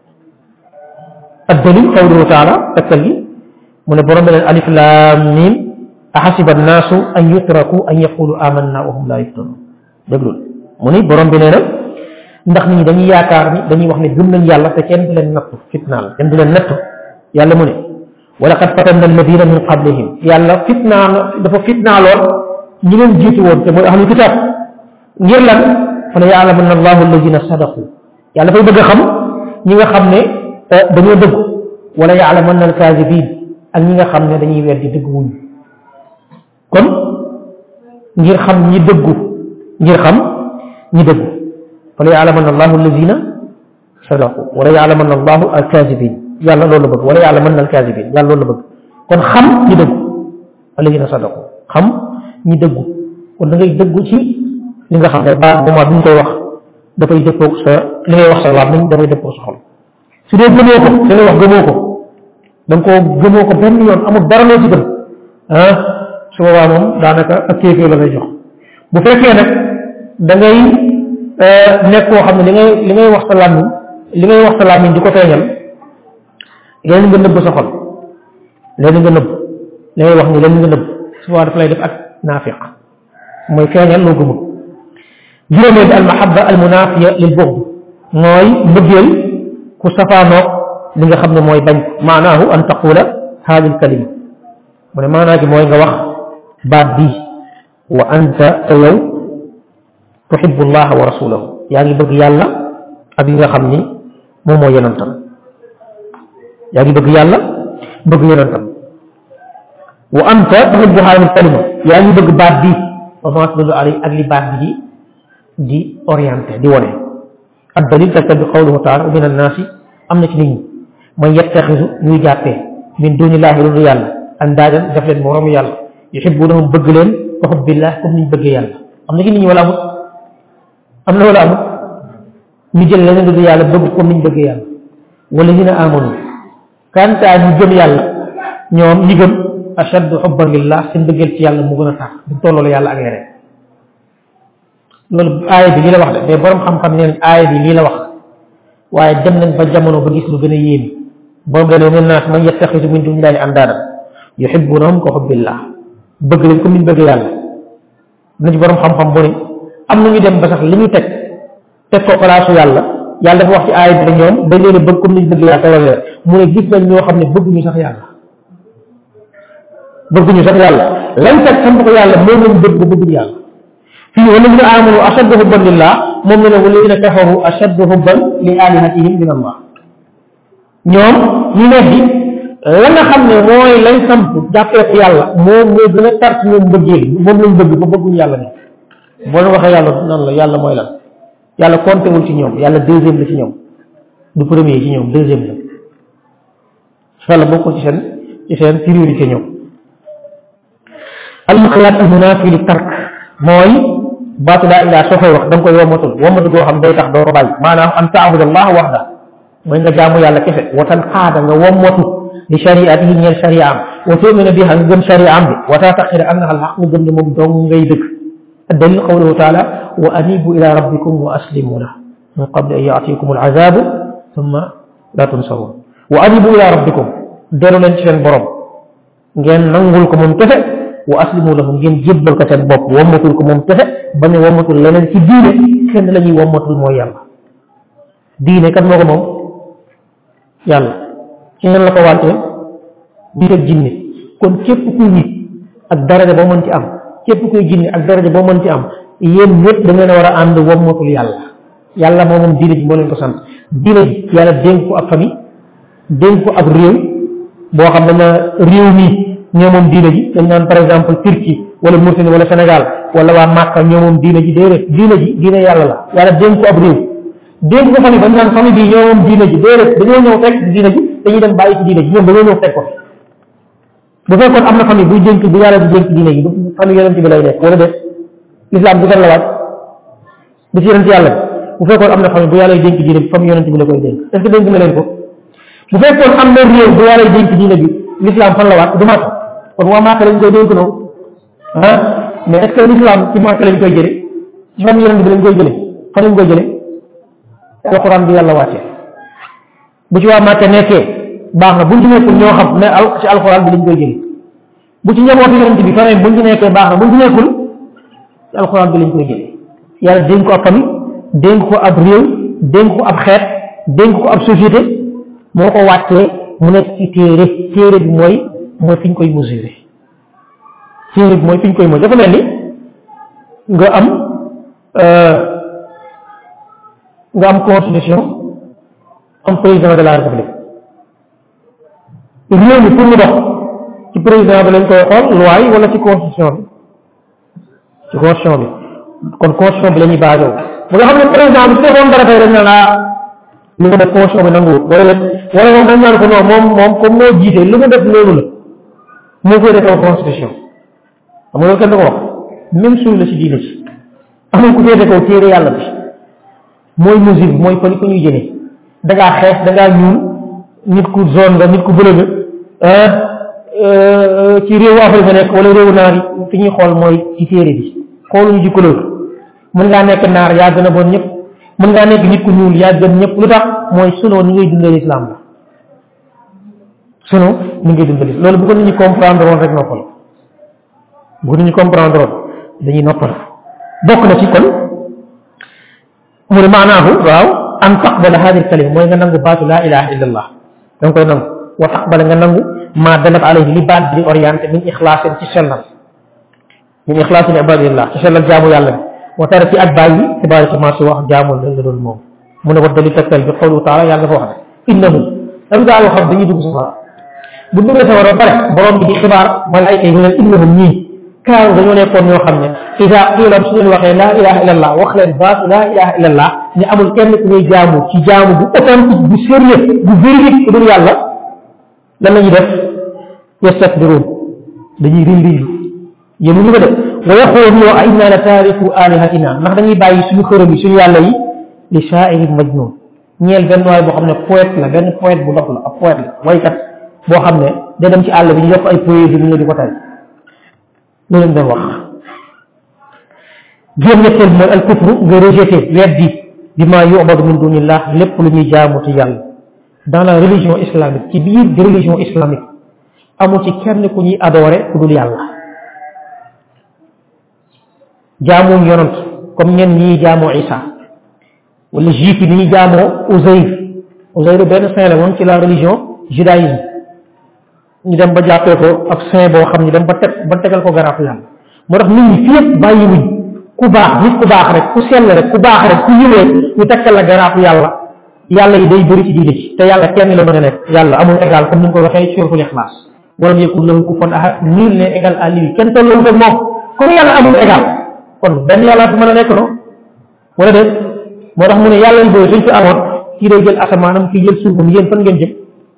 ad-dalil qawluhu taala takkal gi mu ne borom beneen alif laam miim ahasiba annaasu an yutraku an yaqulu amanna wa hum laa yuftanun déglul mu ni borom bi nee na ndax nit ñi dañuy yaakaar ni dañuy wax ne gëm nañ yàlla te kenn du leen nattu fitnaal kenn du leen nattu yàlla mu ne wa laqad fatanna alladina min qablihim yàlla fitnaal dafa fitnaaloon ñi leen jiitu woon te mooy ahlul kitaab ngir lan fa la yaalamanna allahu alladina sadaqu yàlla dafay bëgg a xam ñi nga xam ne dañoo dëgg wala yaalamanna alkaazibin ak ñi nga xam ne dañuy weddi dëgg wuñu kon ngir xam ñi dëggu ngir xam ñi dëggu fala yaalamanna allahu alladina sadaqu wala yaalamanna allahu alkazibin yàlla loolu la bëgg wala yaalamanna alkazibin yàlla loolu la bëgg kon xam ñi dëggu alladina sadaqu xam ñi dëggu kon da ngay dëggu ci li nga xam ne ba moment bi ñu koy wax dafay dëppoog sa li ngay wax sa làmmiñ dafay dëppoog sa xol su dee gëmoo ko li ngay wax gëmoo ko da nga koo gëmoo ko benn yoon amul dara loo ci gëm ah su boobaa moom daanaka ak kéefee la ngay jox bu fekkee nag da ngay nekk koo xam ne li ngay li ngay wax sa làmmiñ li ngay wax sa làmmiñ di ko feeñal leen nga nëbb sa xol leen nga nëbb li ngay wax ni leen nga nëbb su boobaa daf lay def ak naafiq mooy feeñal loo gëmul juróomee bi al mahabba al munafiya lil bughd mooy mbëggeel ku safaanoog li nga xam ne mooy bañ maanaahu an taqula haadi al kalima mu ne maanaa gi mooy nga wax baat bii wa anta te yow tuhibbu llaha wa rasulahu yaa ngi bëgg yàlla ak li nga xam ni moom moo yonentam yaa ngi bëgg yàlla bëgg yonentam wa anta tuhibbu haadihi kalima yaa ngi bëgg baat bii wa ma tadullu alayhi ak li baat bi di di orienté di wone ad dalil tegtal bi qawluhu taala wa min annaasi am na ci nit ñi man yettaxisu ñuy jàppee min dunillahi lu dul yàlla andaadan def leen moroomu yàlla yuhibbunahum bëgg leen ka hubbillah comme niñ bëggee yàlla am na ci nit ñi wala amut am na wala amut ñu jël leneen lu dul yàlla bëgg comme niñ bëggee yàlla walladina amanu kantaa ñu gëm yàlla ñoom ñi gëm ashaddu hubban lillah seen bëggeel ci yàlla mu gën a tax du tolloo yàlla ak yeneen loolu aaya bi lii la wax de mais borom xam-xam nee nañ aaya bi lii la wax waaye dem nañ ba jamono ba gis lu gën a yéemi borom dane min naas man yattaxisu min dunillahi andaadan yuhibbunahum ka hubbillah bëgg leen comme niñ bëgg yàlla na ci borom xam-xam bu ne am na ñu dem ba sax li ñu teg teg ko palaasu yàlla yàlla dafa wax ci aaya bi ne ñoom dañ leen a bëgg comme niñ bëgg yàlla te wala mu ne gis nañ ñoo xam ne bëgguñu sax yàlla bëgguñu sax yàlla lañ teg sant ko yàlla moom lañ bëgg ba bëgguñu yàlla fii walladina amanu ashaddu hubban lillah moom ne ne walladina kafaru ashaddu hubban li alihatihim min allah ñoom ñu weddi la nga xam ne mooy lañ samp jàppee ko yàlla moom moo gën a tar ci ñoom bëggee moom lañ bëgg ba bëgguñu yàlla ne boo leen waxee yàlla nan la yàlla mooy lan yàlla compté wul ci ñoom yàlla deuxième la ci ñoom du premier ci ñoom deuxième la yàlla bokkul ci seen ci seen priorité ñoom al muxalaat al munafi li tark mooy baatu laa ilaa soo koy wax da nga koy womatul womatu goo xam day tax doo ko bàyyi maanaam an taabud allah waxda mooy nga jaamu yàlla kese watan xaada nga womatu li shariatihi ñeel shariaam wa tu'mina biha nga gëm shariaam bi wa taataqira annaha al haq nga gëm ne moom dong ngay dëgg الدليل قوله تعالى وأنيبوا إلى ربكم وأسلموا له من قبل أن يأتيكم العذاب ثم لا تنصرون وأنيبوا إلى ربكم دلوا لن تشن برب ngeen nangul ko mom kesse wa aslimu lahu ngeen jébbal ko seen bopp wammatul ko moom kese bañ a wammatul leneen ci diine kenn la ñuy wammatul mooy yàlla diine kat moo ko moom yàlla ci ngeen la ko wàcce nit ak jinne kon képp kuy nit ak daraja boo mën ci am képp kuy jinne ak daraja boo mën ci am yéen ñëpp da ngeen a war a ànd wammatul yàlla yàlla moo moom diine ji moo leen ko sant diine ji yàlla dénk ko ab famille dénk ko ab réew boo xam ne réew mi ñoo moom diine ji dañ naan par exemple Turquie wala Mauritanie wala Sénégal wala waa Màkka ñoo moom diine ji déedéet diine ji diine yàlla la yàlla dénk ko ab réew dénk ko famille dañ naan famille bi ñoo moom diine ji déedéet dañoo ñëw fekk diine ji dañuy dem bàyyi ci diine ji ñoom dañoo ñëw fekk ko bu fekkoon am na famille buy dénk bu yàlla di dénk diine ji famille yonent bi lay nekk wala déet l'islam du kan la waaj du ci yonent yàlla bu fekkoon am na famille bu yàlla dénk diine bi famille yonent bi la koy dénk est ce que dénk na leen ko bu fekkoon am na réew bu yàlla dénk diine bi l'islam fan la waat du Màkka kon waa Màkka lañ koy dénk noonu ah mais est ce que l'islam ci Màkka lañ koy jële ci famille yonent bi lañ koy jële fan lañ koy jële alquran bi yàlla wàcce bu ci waa Màkka nekkee baax na buñ ci nekkul ñoo xam mais al ci alquran bi lañ koy jële bu ci njabootu yonent bi famille buñ ci nekkee baax na buñ ci nekkul ci alquran bi lañ koy jële yàlla dénk ko ab famille dénk ko ab réew dénk ko ab xeet dénk ko ab société moo ko wàccee mu nekk ci téere téere bi mooy mooy fi ñu koy mesurer téere bi mooy fi ñu koy mesurer dafa mel ni nga am nga am constitution am président de la république réew mi pour mu dox ci président bi lañ koy xool loi yi wala ci constitution bi ci constitution bi kon constitution bi la ñuy basé bu nga xam ne président bi su defoon dara tey dañ naan ah li nga def constitution bi nanguwul wala wala moom dañ naan ko non moom moom comme moo jiite li nga def loolu la moo koy defee constitution xam nga loolu kenn du ko wax même suñu la ci diine ci amul ku féete kaw téere yàlla bi mooy mesure bi mooy fa ko ñuy jëlee da ngaa xees da ngaa ñuul nit ku zone nga nit ku bële nga ci réewu Afrique nga nekk wala réewu naar yi fi ñuy xool mooy ci téere bi xooluñu ci couleur mën ngaa nekk naar yaa gën a bon ñëpp mën ngaa nekk nit ku ñuul yaa gën ñëpp lu tax mooy sunoo ni ngay dundee l'islam la sunoo ni ngay dundee l'islam loolu bu ko nit ñi comprendre woon rek noppal bu ko nit ñi comprendre woon dañuy noppal bokk na ci kon mu ne maanaahu waaw an taqbala hadi kalima mooy nga nangu baatu laa ilaha illa allah da nga koy nangu wa taqbala nga nangu ma dalat alayhi li baat bi di orienté min ixlaasin ci sellal min ixlaasin ibadillah ci sellal jaamu yàlla bi wa tara ci ak bàyyi ci bàyyi ci marché wax jaamul la nga doon moom mu ne wa dali tegtal bi xawlu taala yàlla dafa wax ne innahu am gaa yoo xam dañuy dugg safara bu duggee safara ba pare borom bi di xibaar malaayka yi ñu leen innahum ñii kaaru dañoo nekkoon ñoo xam ne isa qiila su leen waxee laa ilaha illa allah wax leen baatu laa ilaha illa allah ne amul kenn ku ñuy jaamu ci jaamu bu authentique bu sérieux bu véridique ku dul yàlla lan la ñuy def yastakbiruun dañuy riy riyu yéen ñu ko def wa yaqulu a inna la taariku alihatina ndax dañuy bàyyi suñu xërëm yi suñu yàlla yi li shaa'irin majnun ñeel benn waay boo xam ne poète la benn poète bu dox la ab poète la waykat boo xam ne da dem ci àll bi ñu yokk ay poésie ñu di ko tay lu leen doon wax juróom ñetteel mooy al kufru nga rejeté weddi bi ma yu'badu min dunillah lépp lu ñuy jaamu ci yàlla dans la religion islamique ci biir religion islamique amul ci kenn ku ñuy adoré ku dul yàlla jaamuñ yonant comme ñenn ñi jaamoo Isa wala juif yi ni ñuy jaamoo Uzayr Uzayr benn saint la woon ci la religion judaïsme ñu dem ba jàppee ko ak saint boo xam ñu dem ba teg ba tegal ko garaafu yàlla moo tax nit ñi fii yëpp bàyyiwuñ ku baax nit ku baax rek ku sell rek ku baax rek ku yiwee ñu tekkal la garaafu yàlla yàlla yi day bëri ci diine ci te yàlla kenn la mën a nekk yàlla amul égal comme ni nga ko waxee ci suratul Ixlaas walam yakun lahu kufuwan ahad nul n'est égal à lui kenn tollu ko moom comme yàlla amul égal kon benn yàlla fi mën a nekk no wala déet moo tax mu ne yàlla yi bëri suñ fi amoon kii day jël asamaanam kii jël suufam yéen fan ngeen jëm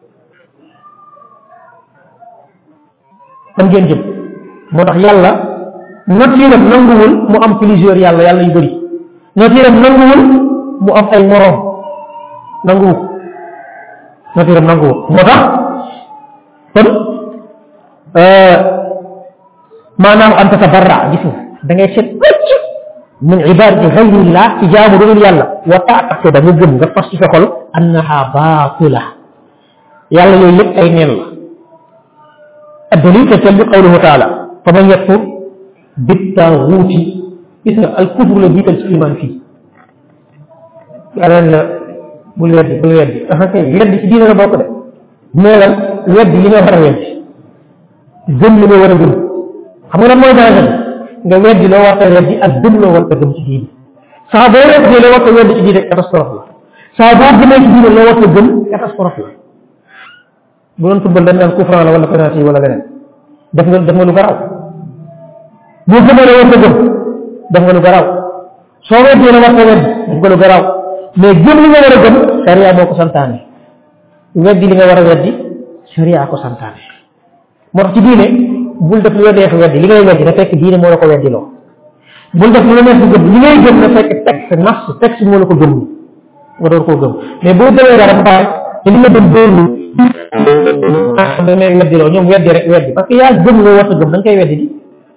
fan ngeen jëm moo tax yàlla natiiram nanguwul mu am plusieurs yàlla yàlla yu bëri natiiram nanguwul mu am ay moroom nanguwu natiiram nanguwul moo tax kon maanaam an tatabarra gis nga da ngay set wecc min ibadati ghayrillah ci jaamu dul yàlla wa ta'taqid da nga gëm nga fas ci sa xol annaha baatila yàlla yooyu yëpp ay neen la الدليل تتبع قوله تعالى فمن يكفر بالطاغوت إذا الكفر الذي الإيمان فيه قال bul weddi bul weddi ah kay weddi ci diine la bokk de meelal weddi li nga war a weddi gëm li nga war a gëm xam nga lan mooy danger nga weddi loo war a weddi ak gëm loo war a gëm ci diine saa boo weddi loo war a weddi ci diine catastrophe la saa boo gëmee ci diine loo war a gëm catastrophe la bu doon football dañ naan coup franc la wala penalty wala leneen def nga def nga lu garaaw boo gëmee la war a gëm def nga lu garaaw soo weddee la war a weddi def nga lu garaaw mais gëm li nga war a gëm sharia moo ko santaane weddi li nga war a weddi sharia ko santaane moo tax ci diine bul def lu la neex weddi li ngay weddi na fekk diine moo la ko weddi loo bul def lu la neex gëm li ngay gëm na fekk texte nas texte moo la ko gëm nga door koo gëm mais boo gëmee dara ba pare te li nga gëm dóorlu da ngay weddi loo ñoom weddi rek weddi parce que yaa gëm loo war a gëm da nga koy weddi di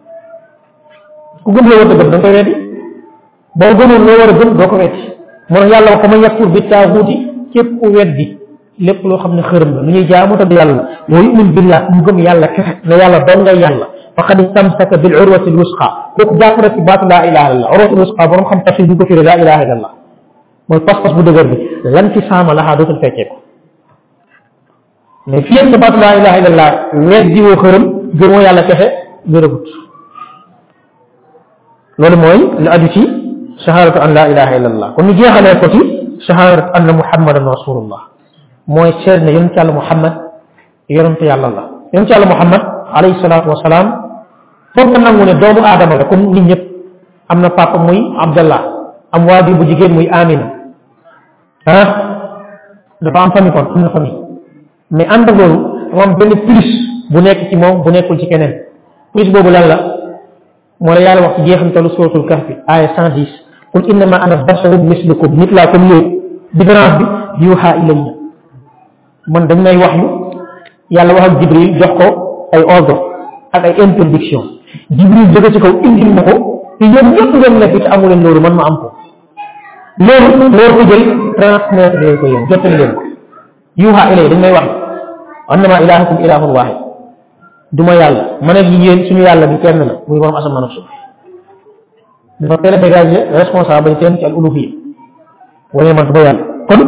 ku gëm loo war a gëm da nga koy weddi boo gëmoon loo war a gëm doo ko weddi moo tax yàlla wax ko ma yakfur bi taaguuti képp ku weddi lépp loo xam ne xërëm la lu ñuy jaamu te yàlla wa yu'min billah mu gëm yàlla kese ne yàlla doon nga yàlla faqad istamsaka bil urwati al wusqa kooku jàpp na ci baatu laa ilaha illallah urwati al wusqa borom xam tafsir bi ko firi laa ilaha illallah mooy pas-pas bu dëgër bi lan ci saama laxaa dootul fekkee ko mais fii sa baatu laa ilaha illallah weddi woo xërëm gëmoo yàlla kese gërëgut loolu mooy lu aju ci shahadatu an la ilaha illallah kon ñu jeexalee ko ci shahadatu anna muhammadan rasulullah mooy seet ne yonent yàlla muhammad yonent yàlla la yonent yàlla muhammad alayhi salaatu wasalaam foog nga nangu ne doomu aadama la comme nit ñëpp am na papa muy abdallah am waajur bu jigéen muy amina ah dafa am famille kon am na famille mais ànd ak loolu dafa am benn plus bu nekk ci moom bu nekkul ci keneen plus boobu lan la moo la yàlla wax ci jeexantalu suratul kahfi aya cent dix qul innama ana basharun mislukum nit laa comme yéen différence bi yuuxa ilayya man dañ may wax yu yàlla wax ak jibril jox ko ay ordre ak ay interdiction jibril jóge ci kaw indil ma ko te yéen ñëpp ngeen nekk te amu leen loolu man ma am ko loolu loolu ko jël transmettre leen ko yéen jottali leen ko yuuxa ilayya dañ may wax annama ilahukum ilahun wahid duma yàlla man ak yéen suñu yàlla bi kenn la muy borom asamaan ak suuf dafa teel a dégager responsable bañ teen ci al uluhiyya wala man ba yàlla kon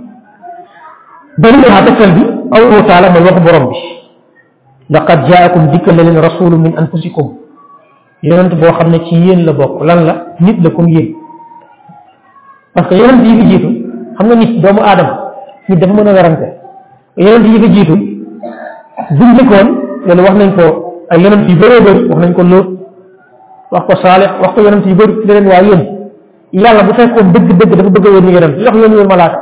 dañu wax tegtal bi allahu taala mooy waxu borom bi laqad jaakum dikkal na leen rasulun min anfusikum yonent boo xam ne ci yéen la bokk lan la nit la comme yéen parce que yonent yi fi jiitu xam nga nit doomu aadama nit dafa mën a werante yonent yi fi jiitu buñ njëkkoon loolu wax nañ ko ay yonent yu bëree bëri wax nañ ko Lóot wax ko Saalix wax ko yonent yu bëri di leen waa yéen yàlla bu fekkoon dëgg-dëgg dafa bëgg a yónni yonent li tax yónni woon malaaka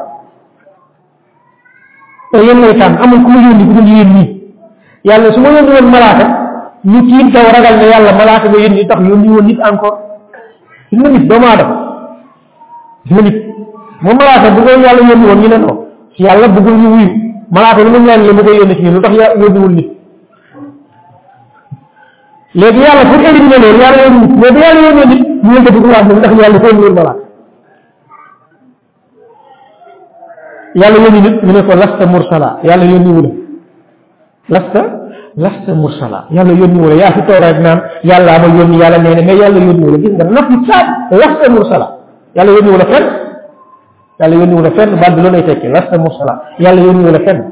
te yéen lay tànn amul ku ma yónni ku dul yéen ñii yàlla su ma yónni woon malaaka ñu tiit daw ragal ne yàlla malaaka nga yónni tax yónni woon nit encore gis nga nit doomu aadama gis nga nit moom malaaka bu ko yàlla yónni woon ñu ne non si yàlla bëggul ñu wuyu malaaka lu mu ñaan la mu koy yónni ci ñun lu tax yónniwul nit léegi yàlla pour éliminer loolu yàlla yónni nit mais bu yàlla yónnee nit ñu ngi ko wax ndax yàlla ko yónni malaaka yàlla yónni nit ñu ne ko lasta mursala yàlla yónni wu la lasta lasta mursala yàlla yónni wu la yaa fi toog rek naan yàlla ma yónni yàlla nee na mais yàlla yónni wu la gis nga nafi saat lasta mursala yàlla yónni wu la fenn yàlla yónni wu la fenn baat bi loolu lay tekki lasta mursala yàlla yónni wu la fenn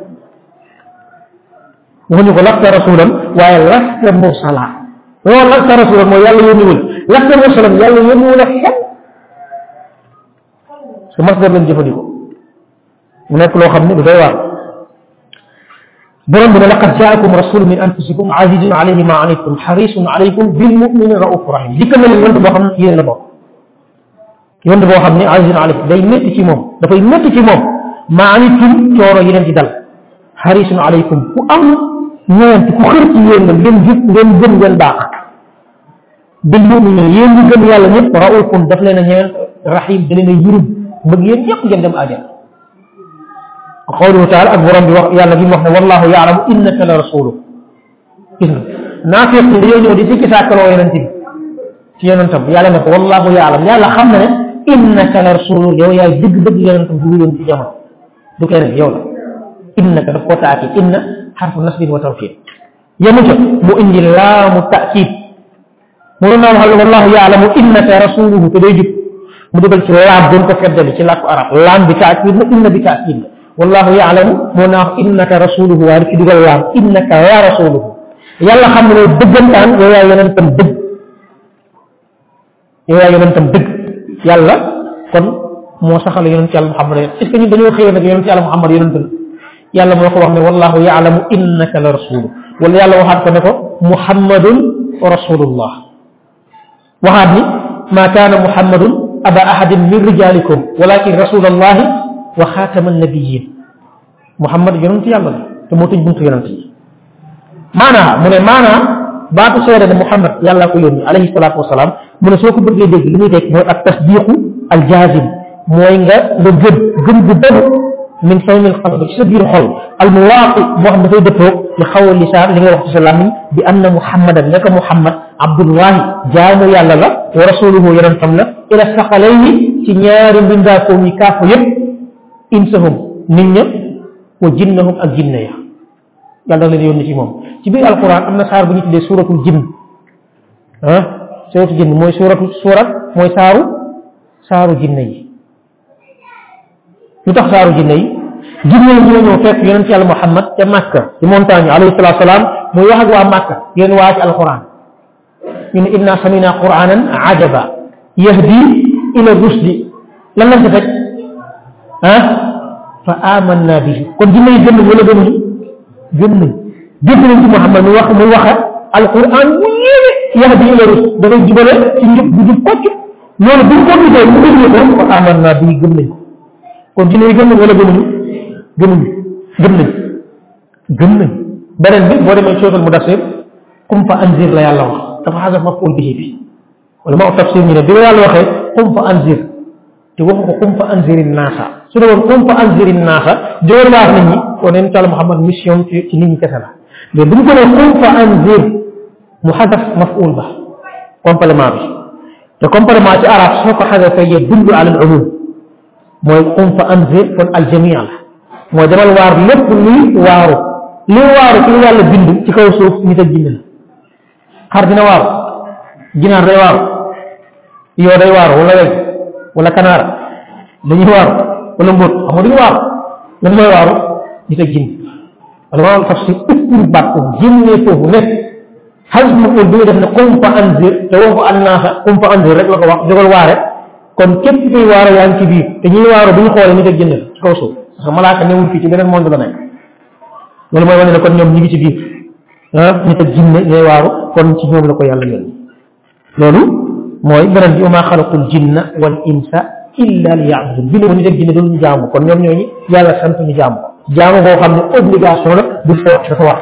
waxuñu ko lasta rasulan waaye lasta mursala loolu lasta rasulan mooy yàlla yónni wu la lasta mursalan yàlla yónni wu la fenn su masdar lañ jëfandikoo mu nekk loo xam ne du doy waar borom bi ne laqad jaakum rasulun min anfusikum azizun alayhi ma anittum harisun alaykum bil mu'minina raufur rahim dikkal na leen yonent boo xam ne yéen la bokk yonent boo xam ne azizun alayhi day métti ci moom dafay métti ci moom ma anittum coono yi leen di dal harisun alaykum ku am ñeent ku xër ci yéen nga ngeen jub ngeen gëm ngeen baax bil mu'minina yéen ñu gëm yàlla ñëpp raufun daf leen a ñeent rahim da leen a yërëm bëgg yéen ñëpp ngeen dem àjjana qawluhu taala ak borom bi wax yàlla bi mu wax ne wallahu yaalamu innaka la rasulu gis nga naafiq yi dañoo ñëw di sikki sàkkaloo yonent bi ci yonentam yàlla ne ko wallahu ya'lam yàlla xam na ne innaka la rasulu yow yaay dëgg dëgg yonentam bu yoon ci jamono du keneen yow la innaka daf koo taaki inna xarfu nasbin wa tawkid yemu ca mu indi laamu taakid mu doon naa wax wallahu ya'lamu innaka rasuluhu te day jub mu dugal ci laam doon ko feddali ci làkku arab laam bi taakid la inna bi taakid la wallahu ya'lamu moo naa wax innaka rasuluhu waaye ci dugal laam innaka ya rasuluhu yàlla xam ne dëggantaan yow yaa yonentam dëgg yow yaa yonentam dëgg yàlla kon moo saxal yonent yàlla Muhammad est ce que ñun dañoo xëyoon nag yonent yàlla Muhammad yonent la yàlla moo ko wax ne wallahu ya'lamu innaka la rasuluhu wala yàlla waxaat ko ne ko muhammadun rasulullah waxaat ni ma kaana muhammadun aba ahadin min rijalikum walakin rasulallahi wa xaatama nabiyin muhammad yonent yàlla la te moo tëj buntu yonent yi maanaa mu ne maanaa baatu seede ne muhammad yàlla ko yónni alayhi salaatu wasalaam mu ne soo ko bëggee dégg li muy teg mooy ak tasdiqu al jaazim mooy nga nga gëm gëm bu dëgg min sawmil qalbi ci sa biir xol al muwaaqi boo xam dafay dëppoo li xaw a lisaan li nga wax ci sa làmmiñ bi anna muhammadan naka muhammad abdullahi jaamu yàlla la wa rasuluhu yonentam la ila saqalayni ci ñaari mbindaakoom yi kaafu yëpp insahum nit ña wa jinnahum ak jinne ya yàlla da leen yónni ci moom ci biir alquran am na saar bu ñu tuddee suuratul jinn ah suuratul jinn mooy suuratu suurat mooy saaru saaru jinne yi lu tax saaru jinne yi jinne yi ñoo ñëw fekk yonent yàlla Muhammad ca Makka ci montagne alayhi salaatu salaam muy wax ak waa Makka yéen waa ci alquran ñu ne inna samina quranan ajaba yahdi ila rusdi lan lañ ko teg ah fa amanna bihi kon jinne yi gëm nañ wala gëmuñu gëm nañ dégg nañ ci Muhammad muy wax muy waxa alquran mu yéene yahdi ila rusdi dafay jubale ci njub bu jub kocc loolu buñ ko gisee mu déglu ko fa amanna bihi gëm nañ kon jinne yi gëm nañ wala gëmuñu gëmuñu gëm nañ gëm nañ beneen bi boo demee sootal mudassir qum fa anzir la yàlla wax dafa xasaf maf'ul bihi bi wala ma tafsir ñu ne bi la yàlla waxee qum fa anzir te waxu ko qum fa anziri naasa su dee woon qum fa anziri naasa jóor wax nit ñi kon neen tàlla Muhammad mission ci ci nit ñi kese la mais bu ñu ko nee qum fa anzir mu xasaf maf'ul ba complément bi te complément ci arab soo ko xasafee yadullu ala al umum mooy qum fa anzir kon aljamia la mooy demal waar lépp luy waaru luy waaru ci lu yàlla bind ci kaw suuf nit ak jinne la xar dina waaru ginaar day waaru yoo day waaru wala weg wala kanaara dañuy waaru wala mbóot xam nga duñu waaru lan mooy waaru nit ak jinne wala maa tafsir ëppul baat ko génnee foofu ne xas ma bi nga def ne qum fa anzir te waxu annaasa qum fa anzir rek la ko wax jógal waare kon képp kuy waaro yaa ngi ci biir te ñuy waaro bu ñu xoolee nit ak jinne la ci kaw suuf parce que malaaka newul fii ci beneen monde la nekk loolu mooy wane ne kon ñoom ñu ngi ci biir ah nit ak jinne ñooy waaru kon ci ñoom la ko yàlla yónni loolu mooy beneen bi wa maa xalaqul jinna wal insa illa liya'budun bi nit ak jinne doon ñu jaamu kon ñoom ñooñu yàlla sant ñu jaamu jaamu boo xam ne obligation la du foo dafa war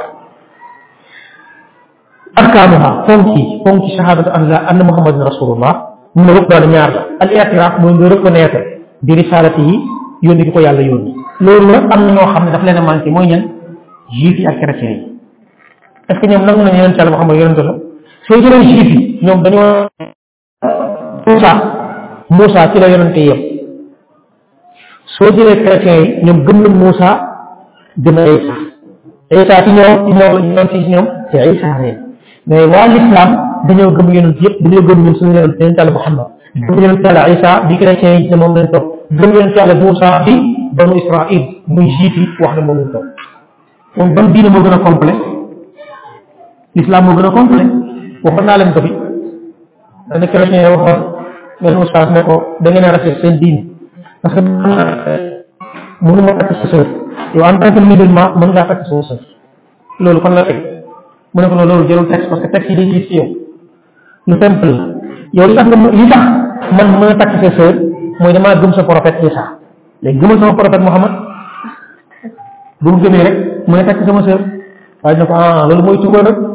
arkaanuha fonki fonki shahadatu an la anna muhammadan rasulullah mu ne rek daal ñaar la al i'tiraf mooy nga reconnaître bi risalati yi yónni gi ko yàlla yónni loolu nag am na ñoo xam ne daf leen a manqué mooy ñan juif yi ak chrétiens yi est-ce que ñoom nangu nañu yonent yàlla Muhammad yonent la soo jëlee juif yi ñoom dañoo Moussa Moussa ci la yonente yëpp soo jëlee chrétiens yi ñoom gëm nañ Moussa gëm a Isa Isa ci ñoom ci ñoom la ñoom ci ñoom te Isa reen mais waa l'islam dañoo gëm yonent yëpp dañoo gëm ñun suñu yonent yonent yàlla Muhammad gëm yonent yàlla Isa bi chrétiens yi ne moom lañ topp gëm yonent yàlla Moussa bi banu Israël muy juif yi wax ne moom lañ topp moom ban diine moo gën a complet l'islam moo gën a complet waxoon naa leen ko fi dana chrétien yi waxoon benn ustaas ne ko da ngeen a rafet seen diine parce que mënu ma takk sa sœur yow en tant que musulman mën ngaa takk sa sœur loolu kon la teg mu ne ko loolu jëlul texte parce que texte yi day gis ci yow lu simple la yow li tax nga li tax man mën a takk sa sœur mooy damaa gëm sa prophète Isa léegi gëmal sama prophète Muhammad bu mu gëmee rek mu ne takk sama sœur waaye ne ko ah loolu mooy tuubal rek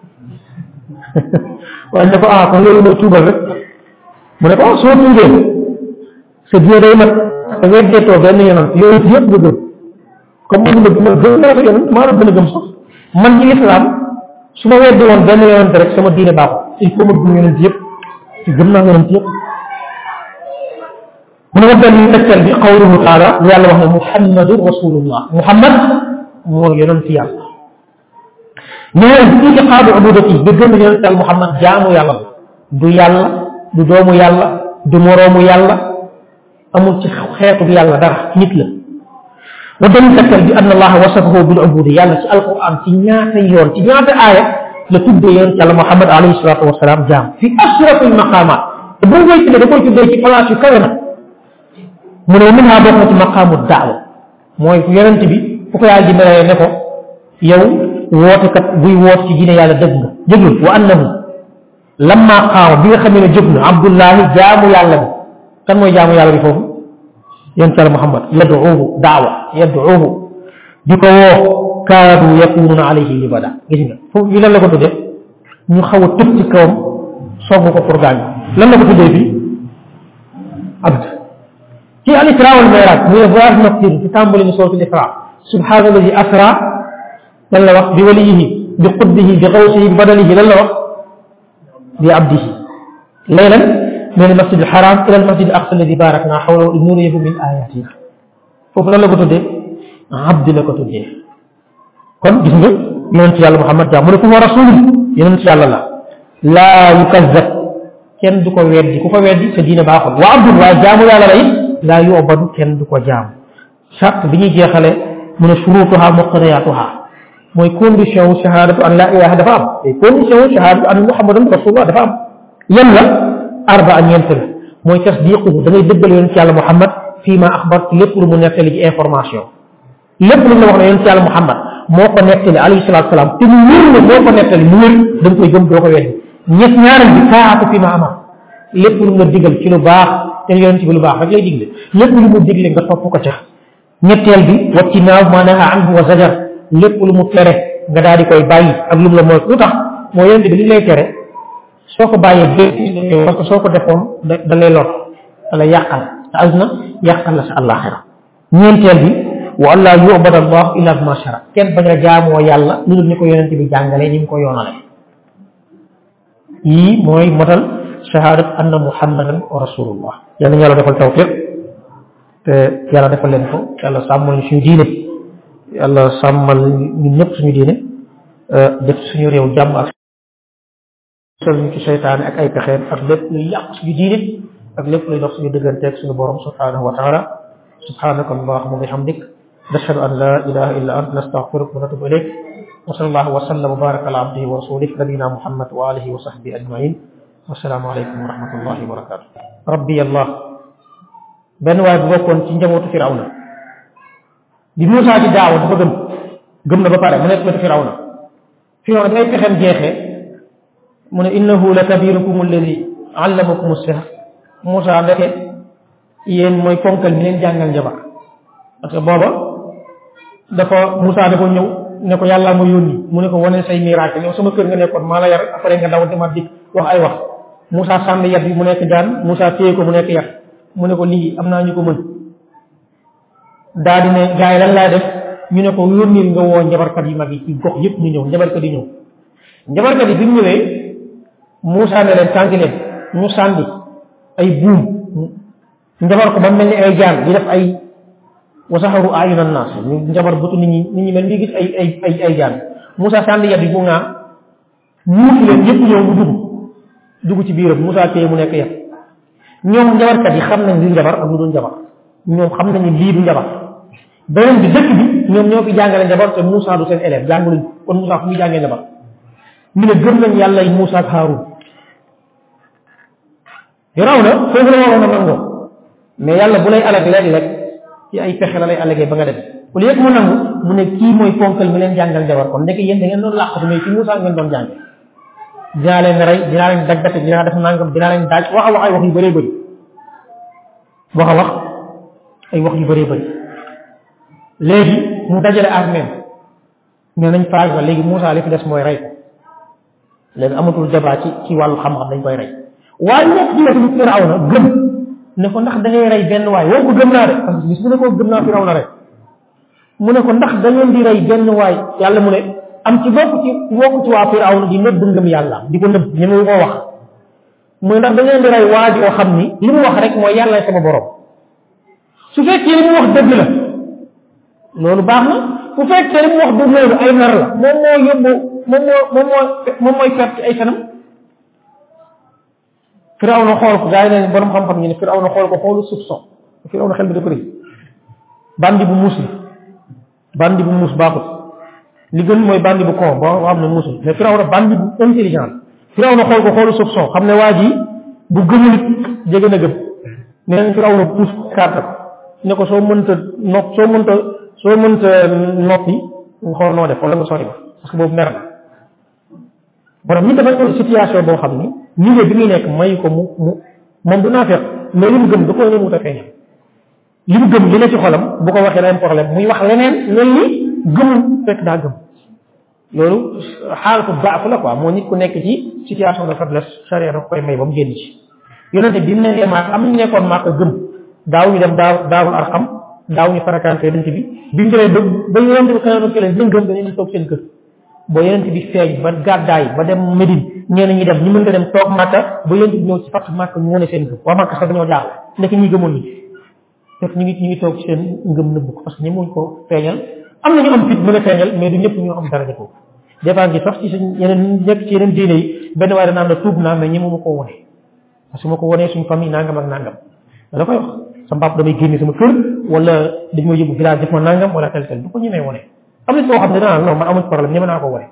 waaye ne ko ah kon loolu mooy tuubal rek mu ne ko ah soo tuubee sa diine day mat da ngay deetoo benn yonent yonent yëpp nga gëm comme man ma ma gëm naa ko yonent maa la gën a gëm sax man ci islam su ma weddi woon benn yonent rek sama diine baaxul il faut ma gëm yonent yëpp ci gëm naa yonent yëpp mu ne wa benn tegtal bi qawluhu taala lu yàlla wax ne muhammadu rasulullah muhammad moo yonent yàlla ñëwee itiqaadu ubudati bi gëm yonent yàlla muhammad jaamu yàlla la du yàlla du doomu yàlla du moroomu yàlla amul ci xeetu bi yàlla dara nit la wa benn tegtal bi anna allaha wasafahu bil ubudi yàlla ci alquran ci ñaata yoon ci ñaata aaya la tuddee yonent yàlla muhammad alayhi salatu wasalaam jaam fi ashrafil maqamat te bu koy tuddee da koy tuddee ci place yu kawe na mu ne min ha bokk na ci maqaamu daawa mooy yonent bi fu ko yàlla di melee ne ko yow wootekat buy woot ci diine yàlla dëgg nga jëgul wa annahu lamma qaama bi nga xamee ne jóg na abdullahi jaamu yàlla bi kan mooy jaamu yàlla bi foofu yonent yàlla muhammad yad'uuhu daawa yad'uuhu di ko woo kaadu yakununa alayhi libada gis nga foofu yi lan la ko tuddee ñu xaw a tëb ci kawam sogg ko pour gaañ lan la ko tuddee fii abd ci al isra wal mi'raj muy voyage nocturne ci tàmbali ñu sootul isra subhaana alladi asra lan la wax bi waliyihi bi qutbihi bi xawsihi bi badalihi lan la wax bi abdihi laylan min al masjid al haram ila al masjid al aqsa alladi barakna hawlahu linuriyahu min ayatina foofu lan la ko tuddee abdi la ko tuddee kon gis nga yonent yàlla muhammad jaa mu ne ko wa rasul yonent yàlla la laa yukazzab kenn du ko weddi ku ko weddi sa diine baaxul wa abdul waaye jaamu yàlla la it laa yubadu kenn du ko jaam charte bi ñuy jeexale mu ne shurutuha muqtadiyatuha mooy condition wu shahadatu an la ilaha dafa am te condition wu shahadatu an muhammadan rasulullah dafa am yan la arbaa ñeent la mooy tasdiquhu da ngay dëggal yonent yàlla muhammad fii ma axbar ci lépp lu mu nettali ci information lépp lu mu la wax ne yonent yàlla muhammad moo ko nettali alayhi salatu salaam te mu wér ne moo ko nettali mu wér da nga koy gëm doo ko weddi ñett ñaareel bi taatu fi ma amar lépp lu mu la digal ci lu baax te yonent bi lu baax rek lay digle lépp lu mu digle nga topp ko ca ñetteel bi wattinaaw ma naha anhu wa zajar lépp lu mu tere nga daal di koy bàyyi ak lu mu la mooy lu tax moo yonent bi li lay tere soo ko bàyyee bé parce que soo ko defoon da da lay lor da lay yàqal sa àdduna yàqal la sa àllaaxira ñeenteel bi wa an laa yu'bada allah illa bima shara kenn bañ a jaamoo yàlla lu dul ni ko yonent bi jàngalee ni mu ko yoonale yii mooy motal shahadat anna muhammadan wa rasulullah yàlla ñu yàlla defal tawfiq te yàlla defal leen ko yàlla sàmmal ñu suñu diine yàlla sàmmal ñun ñëpp suñu diine def suñu réew jàmm ak sol ñu ci seytaane ak ay pexeem ak lépp luy yàq suñu diine ak lépp luy dox suñu digganteeg suñu borom subhanahu wa taala subhanaka allahumma wa bihamdik nashhadu an la ilaha illa anta nastaghfiruka wa natubu ilayk wa sallallahu wa sallam wa baraka ala abdihi wa rasulih nabina muhammad wa alihi wa sahbihi ajmain wassalaamu aleykum wa rahmatullahi wa barakatuh rabbi allah benn waaye bu bokkoon ci njabootu firawna bi Muusaa di daawa dafa gëm gëm na ba pare mu nekk wetu firawna firawna bi ay pexem jeexee mu ne innahu la kabirukum alladi allamakum as-sihr Muusaa ndeke yéen mooy ponkal mi leen jàngal njabar parce que booba dafa Muusaa dafa ñëw ne ko yàlla ma yónni mu ne ko wane say miracle yow sama kër nga nekkoon maa la yar après nga daw demaat dik wax ay wax Muusaa sànni yat bi mu nekk jaan Muusaa téye ko mu nekk yat mu ne ko lii am naa ñu ko mën daa di ne gars yi lan laa def ñu ne ko yónnil nga woo njabarkat yi mag yi ci gox yëpp ñu ñëw njabarkat yi ñëw njabarkat yi bi ñu ñëwee Muusaa ne leen tànki leen ñu sànni ay buum njabar ko ba mel ni ay jaan di def ay wasaxaru ayuna naas ñu njabar bëtu nit ñi nit ñi mel ni gis ay ay ay ay jaan Muusaa sànni yat bi bu ngaa muusi leen yëpp ñëw mu dugg dugg ci biiram Muusaa téye mu nekk yat ñoom njabarkat yi xam nañ li njabar ak lu dul njabar ñoom xam nañu lii du njabar beneen bi dëkk bi ñoom ñoo fi jàngale njabar te Muusaa du seen élève jànguluñ kon Muusaa fu muy jàngee njabar ñu ne gëm nañ yàlla yi Muusaa ak Haaruun raw na foofu la waroon a nangoo mais yàlla bu lay alag léeg-léeg ci ay pexe la lay alagee ba nga def au lieu que mu nangu mu ne kii mooy ponkal mi leen jàngal njabar kon ndeke yéen da ngeen doon làqatu mais ci Muusaa ngeen doon jànge dinaa leen rey dinaa leen daggate dinaa def nangam dinaa leen daaj wax a wax ay wax yu bëree bëri wax a wax ay wax yu bëree bëri léegi mu dajale armée mais nañ faag ba léegi Muusaa li fi des mooy rey ko léegi amatul débat ci ci wàllu xam-xam dañ koy rey waaye nekk ci wetu Firawna gëm ne ko ndax da ngay rey benn waay woo ko gëm naa de parce que bis bu ne ko gëm naa Firawna rek mu ne ko ndax da ngeen di rey benn waay yàlla mu ne am ci bokk ci bokk ci waa Firawna di nëbb ngëm yàlla di ko nëbb ñemewu koo wax muy ndax da ngeen di rey waa joo xam ni li mu wax rek mooy yàlla sama borom su fekkee li mu wax dëgg la loolu baax na bu fekkee li mu wax du loolu ay nar la moom moo yóbbu moom moo moom moo moom mooy perte ci ay fenam Firawna xool ko gaa yi ne borom xam-xam ñu ne Firawna xool ko xoolu soupçon Firawna xel bi dafa rëy bandi bu muus la bandi bu muus baaxut li gën mooy bandi bu con boo xam ne muusul mais Firawna bandi bu intelligent Firawna xool ko xoolu soupçon xam ne waa ji bu gëmul jege na gëm nee nañ Firawna puus carte ko ne ko soo mënta nopp soo mënta soo mënta noppi nga xool noo def wala nga sori ba parce que boobu mer na borom ñi dafa ko situation boo xam ni niveau bi muy nekk mayu ko mu mu moom du naa fekk mais li mu gëm da koo ñëwut a feeñal li mu gëm li ne ci xolam bu ko waxee leen problème muy wax leneen mel ni gëmul fekk daa gëm loolu xaalatu daaf la quoi moo nit ku nekk ci situation de faiblesse charia da koy may ba mu génn ci yonente bi mu ne maak am ñu nekkoon maa ko gëm daaw ñu dem daaw daawul arxam daaw ñu farakante yonente bi bi mu demee ba ba yonente bi xëyoon ke leen dañ gëm dañu toog seen kër boo yonente bi feeñ ba gàddaay ba dem Médine ñeneen ñi dem ñu mën nga dem toog Màkka ba yonente bi ñëw ci fàttu Màkka ñu wane seen gëm waa Màkka sax dañoo jaaxle nekk ñi gëmoon ni fekk ñu ngi ñu ngi toog ci seen ngëm nëbb ko parce que ñi muñ ko feeñal am na ñu am fit mën a feeñal mais du ñëpp ñu am daraja ko des fois ngi sax ci suñ yeneen nekk ci yeneen diine yi benn waaye danaan la tuub naa mais ñi ma ko wone parce que ma ko wonee suñ famille nangam ak nangam da koy wax sama papa damay génne sama kër wala dañ ma yóbbu village def ma nangam wala tel tel du ko ñemee wone am na koo xam ne danaa non man amuñ problème ñeme naa ko wone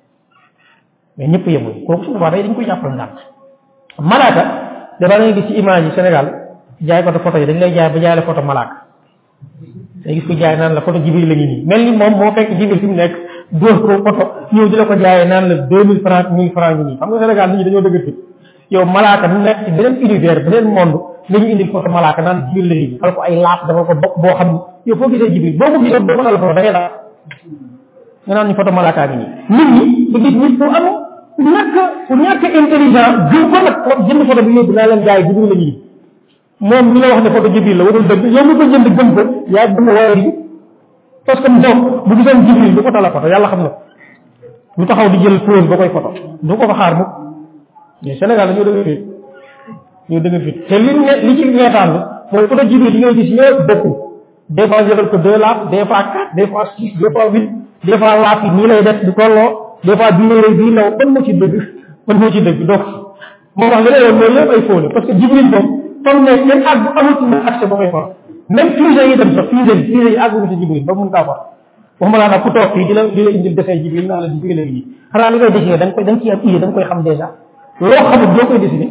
mais ñëpp yemul kooku su boobaa day dañ koy jàppal ndànk malaaka dafa ngay gis ci image yi Sénégal jaay ko photo yi dañ lay jaay ba jaay la photo malaaka day gis ko jaay naan la photo Jibril la ngi nii mel ni moom moo fekk Jibril fi mu nekk dóor ko photo ñëw di la ko jaayee naan la deux mille francs mille francs ngi nii xam nga Sénégal nit ñi dañoo dëgg fit yow malaaka mu nekk ci beneen univers beneen monde la ñu indil photo malaaka naan Jibril la ngi nii xal ko ay laaf dafa ko bokk boo xam ni yow foo gisee Jibril boo ko gisee boo ko la photo da ngay laaf nga naan ñu photo malaaka ngi nii nit ñi da gis nit ku am ñàkk ku ñàkk intelligent gën ko nag jënd photo bi yóbbu naa leen jaay Jibril la ngi nii moom mi la wax ne photo Jibril la warul dëgg yow mi ko jënd gëm ko yaa gëm war yi parce que moom bu gisoon Jibril du photo la photo yàlla xam na lu taxaw di jël pose ba koy photo du ko fa xaar mukk mais Sénégal dañoo dëgg fit ñoo dëgg fit te li ne li ci ñeetaan mooy photo Jibril yi ngay gis ñëpp bokkul des fois jëlal ko deux laaf des fois quatre des fois six des fois huit des fois laaf yi nii lay def du tolloo des fois bii lay bii law ban moo ci dëgg ban moo ci dëgg donc moo tax li lay woon mooy lépp ay fóole parce que Jibril moom comme ne kenn àgg bu amul ci accès ba koy for même fusée yi dem sax fusée yi fusée yi àgguñu ci Jibril ba mun kaa for waxuma laa nag ku toog fii di la di la indil defee Jibril naa la Jibril la nii xanaa li koy dessiné da nga koy da nga ciy am idée da nga koy xam dèjà loo xamul doo koy dessiné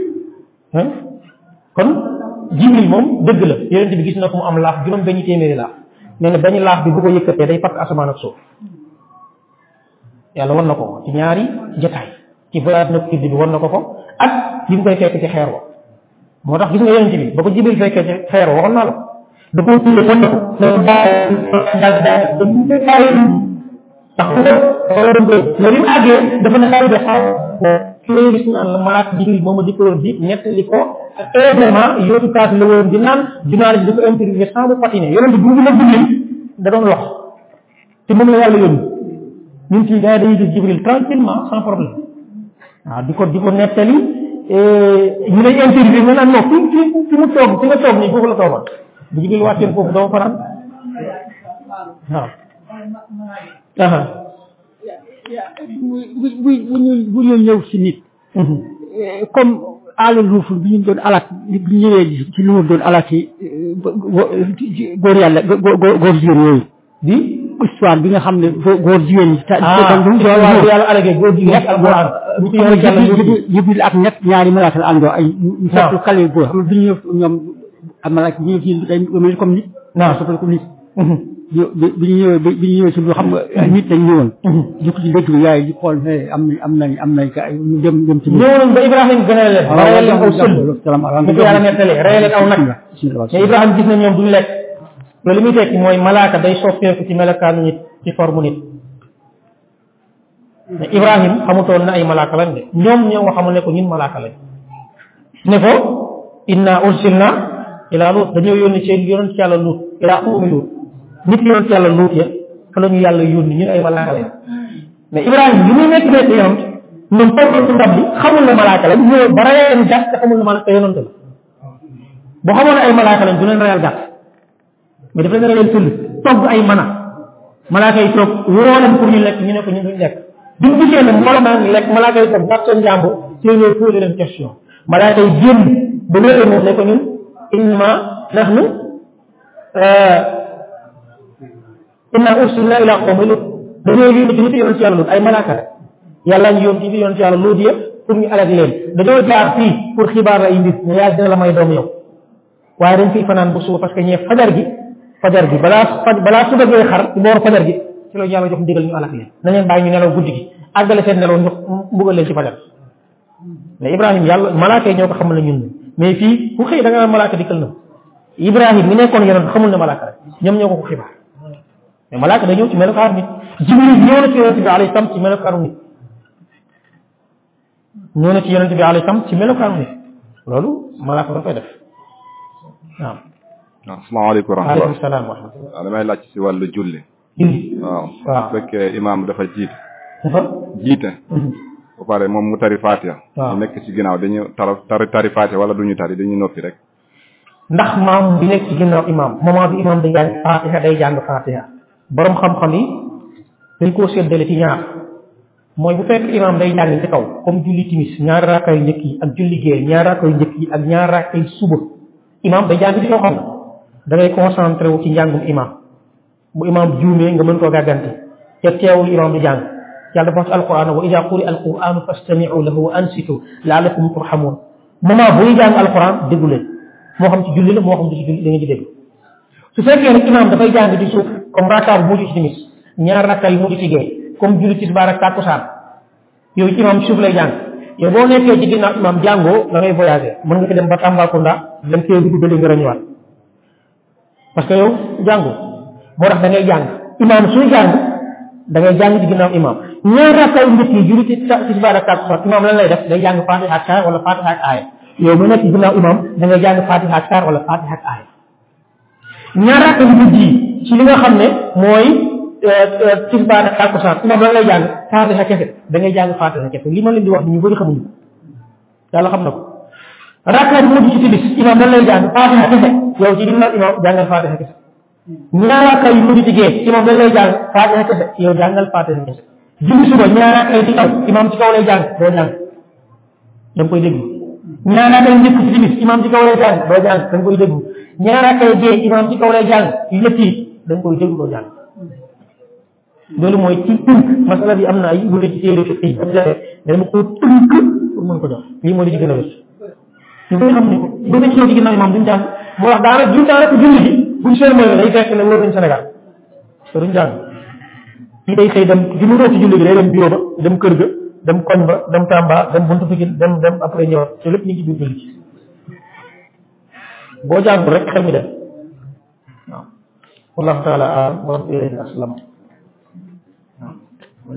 kon Jibril moom dëgg la yonent bi gis na ko mu am laaf juróom benn téeméeri laaf nee na benn laaf bi bu ko yëkkatee day fakk asamaan ak suuf yàlla war na ko ci ñaari jotaay ci voyage nag bi war na ko ko ak bi mu koy fekk ci xeer wa moo tax gis nga yonent bi ba ko Jibril fekkee ci xeer wa waxoon naa la da koo tuddee kon ko tax wala dem koy mais bi mu àggee dafa ne xaw de xaw ki lay gis naan la malaat Jibril mooma di ko di nettali ko ak événement yootu kaas la woon di naan journaliste di ko interviewé sans mu patiner yonent bi bu la Jibril da doon lox te moom la yàlla yónni ñun fii gars yi dañuy gis Jibril tranquillement sans problème waaw di ko di ko nettali ñu lay interview nga naan non fi fi fi mu toog fi nga toog nii foofu la toogoon bu Jibril wàcceen foofu doo fanaan waaw aha bu bu bu ñu bu ñu ñëw si nit comme aala luuf bi ñu doon alak bi ñëwee ci lu mu doon alak yi góor yàlla góor jigéen yooyu di histoire bi nga xam ne góor jigéen ñi. ah yàlla alage góor jigéen alquran Jibril ak ñett ñaari malaaka la àndoo ay ñu fekk xale góor xam nga bi ñu ñëw ñoom malaaka bi ñu ci day mel comme nit non soppal comme nit bi ñu ñëwee bi ñu ñëwee si lu xam nga nit dañ ñëwoon jukk ci dëkk bi yaay di xool am am nañ am nañ ka ñu dem dem ci ñëwoon ba Ibrahima gën a leen rayal leen aw sël bu ko yàlla nettalee rayal leen aw nag mais Ibrahima gis na ñoom duñ lekk loolu li muy tekki mooy malaaka day soppeeku ci melokaanu nit ci forme nit mais Ibrahima xamutoon na ay malaaka lañ de ñoom ñoo nga xamul ne ko ñun malaaka lañ ne ko inna ursilna ila Lut dañoo yónni ci yonent yàlla Lut ila qawmi Lut nit yonent yàlla Lut ya fa la ñu yàlla yónni ñun ay malaaka lañ mais Ibrahima li muy nekk nekk yonent ñoom toog ci ndab bi xamul ne malaaka lañ ñëw ba rayeen gàtt te xamul ne malaaka yonante la boo xamoon ne ay malaaka lañ du leen rayal gàtt mais dafa leen rayal tëll togg ay mana malaaka yi toog woo leen pour ñu lekk ñu ne ko ñu duñ lekk duñ gisee ne mbooloo maa ngi lekk malaaka yi toog gàtt seen jàmbur ci ñëw posé leen question malaaka yi génn ba wéete moom ne ko ñun inna nahnu inna ursilna ila qawmin lut dañoo yónni ci nit yoon ci yàlla lut ay malaaka rek yàlla ñu yónni ci yoon ci yàlla lut yëpp pour ñu alag leen dañoo jaar fii pour xibaar la ay mbir ne yaa dina la may doom yow waaye dañ fiy fanaan bu suba parce que ñee fajar gi fajar gi balaa balaa suba gee xar ci booru fajar gi ci la yàlla jox ndigal ñu alag leen na leen bàyyi ñu nelaw guddi gi àggale seen nelaw ñu mbugal leen ci fajar mais Ibrahima yàlla malaaka yi ñoo ko xamal ne ñun mais fii ku xëy da nga naan malaaka dikkal na Ibrahima mi nekkoon yonent xamul ne malaaka rek ñoom ñoo ko ko xibaar mais malaaka day ñëw ci melokaanu nit Jibril ñëw na ci yonent bi alayhi salaam ci melokaanu nit ñëw na ci yonent bi alayhi salaam ci melokaanu nit loolu malaaka da koy def waaw. waaw asalaamaaleykum wa rahmatulah waaleykum salaam wa rahmatulah. waaw damay laaj ci wàllu julli. julli waaw. waaw bu fekkee imaam dafa jiite. dafa jiite. ba pare moom mu tari Fatiha. waaw ñu nekk ci ginnaaw dañuy tari tari Fatiha wala duñu tari dañuy noppi rek. ndax maam bi nekk ci ginnaaw imaam moment bi imaam day jàng Fatiha day jàng Fatiha borom xam-xam yi dañ koo séddale ci ñaar mooy bu fekk imaam day jàng ci kaw comme julli timis ñaari raaka yu njëkk yi ak julli gée ñaari raaka yu njëkk yi ak ñaari raaka yu suba imaam day jàng ci kaw xam da ngay concentré wu ci njàngum imaam bu imaam juumee nga mën koo gàggante te teewul imaam di jàng yàlla dafa wax ci alquran wa ida quri alquran fastami'u lahu wa ansitu la'allakum turhamun moment buy jàng alquran déglu leen moo xam ci julli la moo xam ci julli da ngeen di déglu su fekkee nag imaam dafay jàng ci suuf comme rakka bu mujj ci timis ñaar rakka yu mujj ci gee comme julli tisbaar ak takkusaan yooyu imaam ci suuf lay jàng yow boo nekkee ci ginnaaw imaam jàngoo da ngay voyager mën nga ko dem ba Tambacounda dem kee dugg bële nga rañuwaat parce que yow jàngoo moo tax da ngay jàng imaam suy jàng da ngay jàng ci ginnaaw imaam ñaar rakka yu njëkk yi julli tisbaar ak takkusaan imaam lan lay def day jàng Fatiha ak saar wala Fatiha ak aaya yow mu nekk ci ginnaaw imaam da ngay jàng Fatiha ak saar wala Fatiha ak aaya ñaar rakka yu mujj yi ci li nga xam ne mooy tisbaar ak takkusaan imaam lan lay jàng Fatiha kese da ngay jàng Fatiha kese li ma leen di wax ñu bëri xamuñu ko yàlla xam na ko rakka bu mujj ci timis imaam lan lay jàng Fatiha kese yow ci ginnaaw imaam jàngal Fatiha kese ñaar rakka yu mujj ci gee imaam lan lay jàng Fatiha kese yow jàngal Fatiha kese julli suba ñaar rakka yi ci kaw imaam ci kaw lay jàng doo jàng da nga koy déglu ñaar rakka yu njëkk ci timis imaam ci kaw lay jàng doo jàng da nga koy déglu ñaar rakka yu gee imaam ci kaw lay jàng yu ñett yi da nga koy déglu doo jàng loolu mooy ci tënk masala bi am na ay wute ci téere fi dama ko tënk pour mën ko jox lii moo di ci gën a wés ñu koy xam ne bu nekk ci ginnaaw imaam duñ jàng moo wax daanaka duñ daanaka julli bi buñ seen mooy day fekk ne wóor nañ Sénégal te duñ jàng kii day xëy dem bi mu roog ci julli bi day dem bureau ba dem kër ga dem koñ ba dem Tamba dem buntu Pikine dem dem après ñëwaat te lépp ñu ngi ci biir julli ci boo jàngul rek xel mi dem waaw wallahu taala alam wa aslam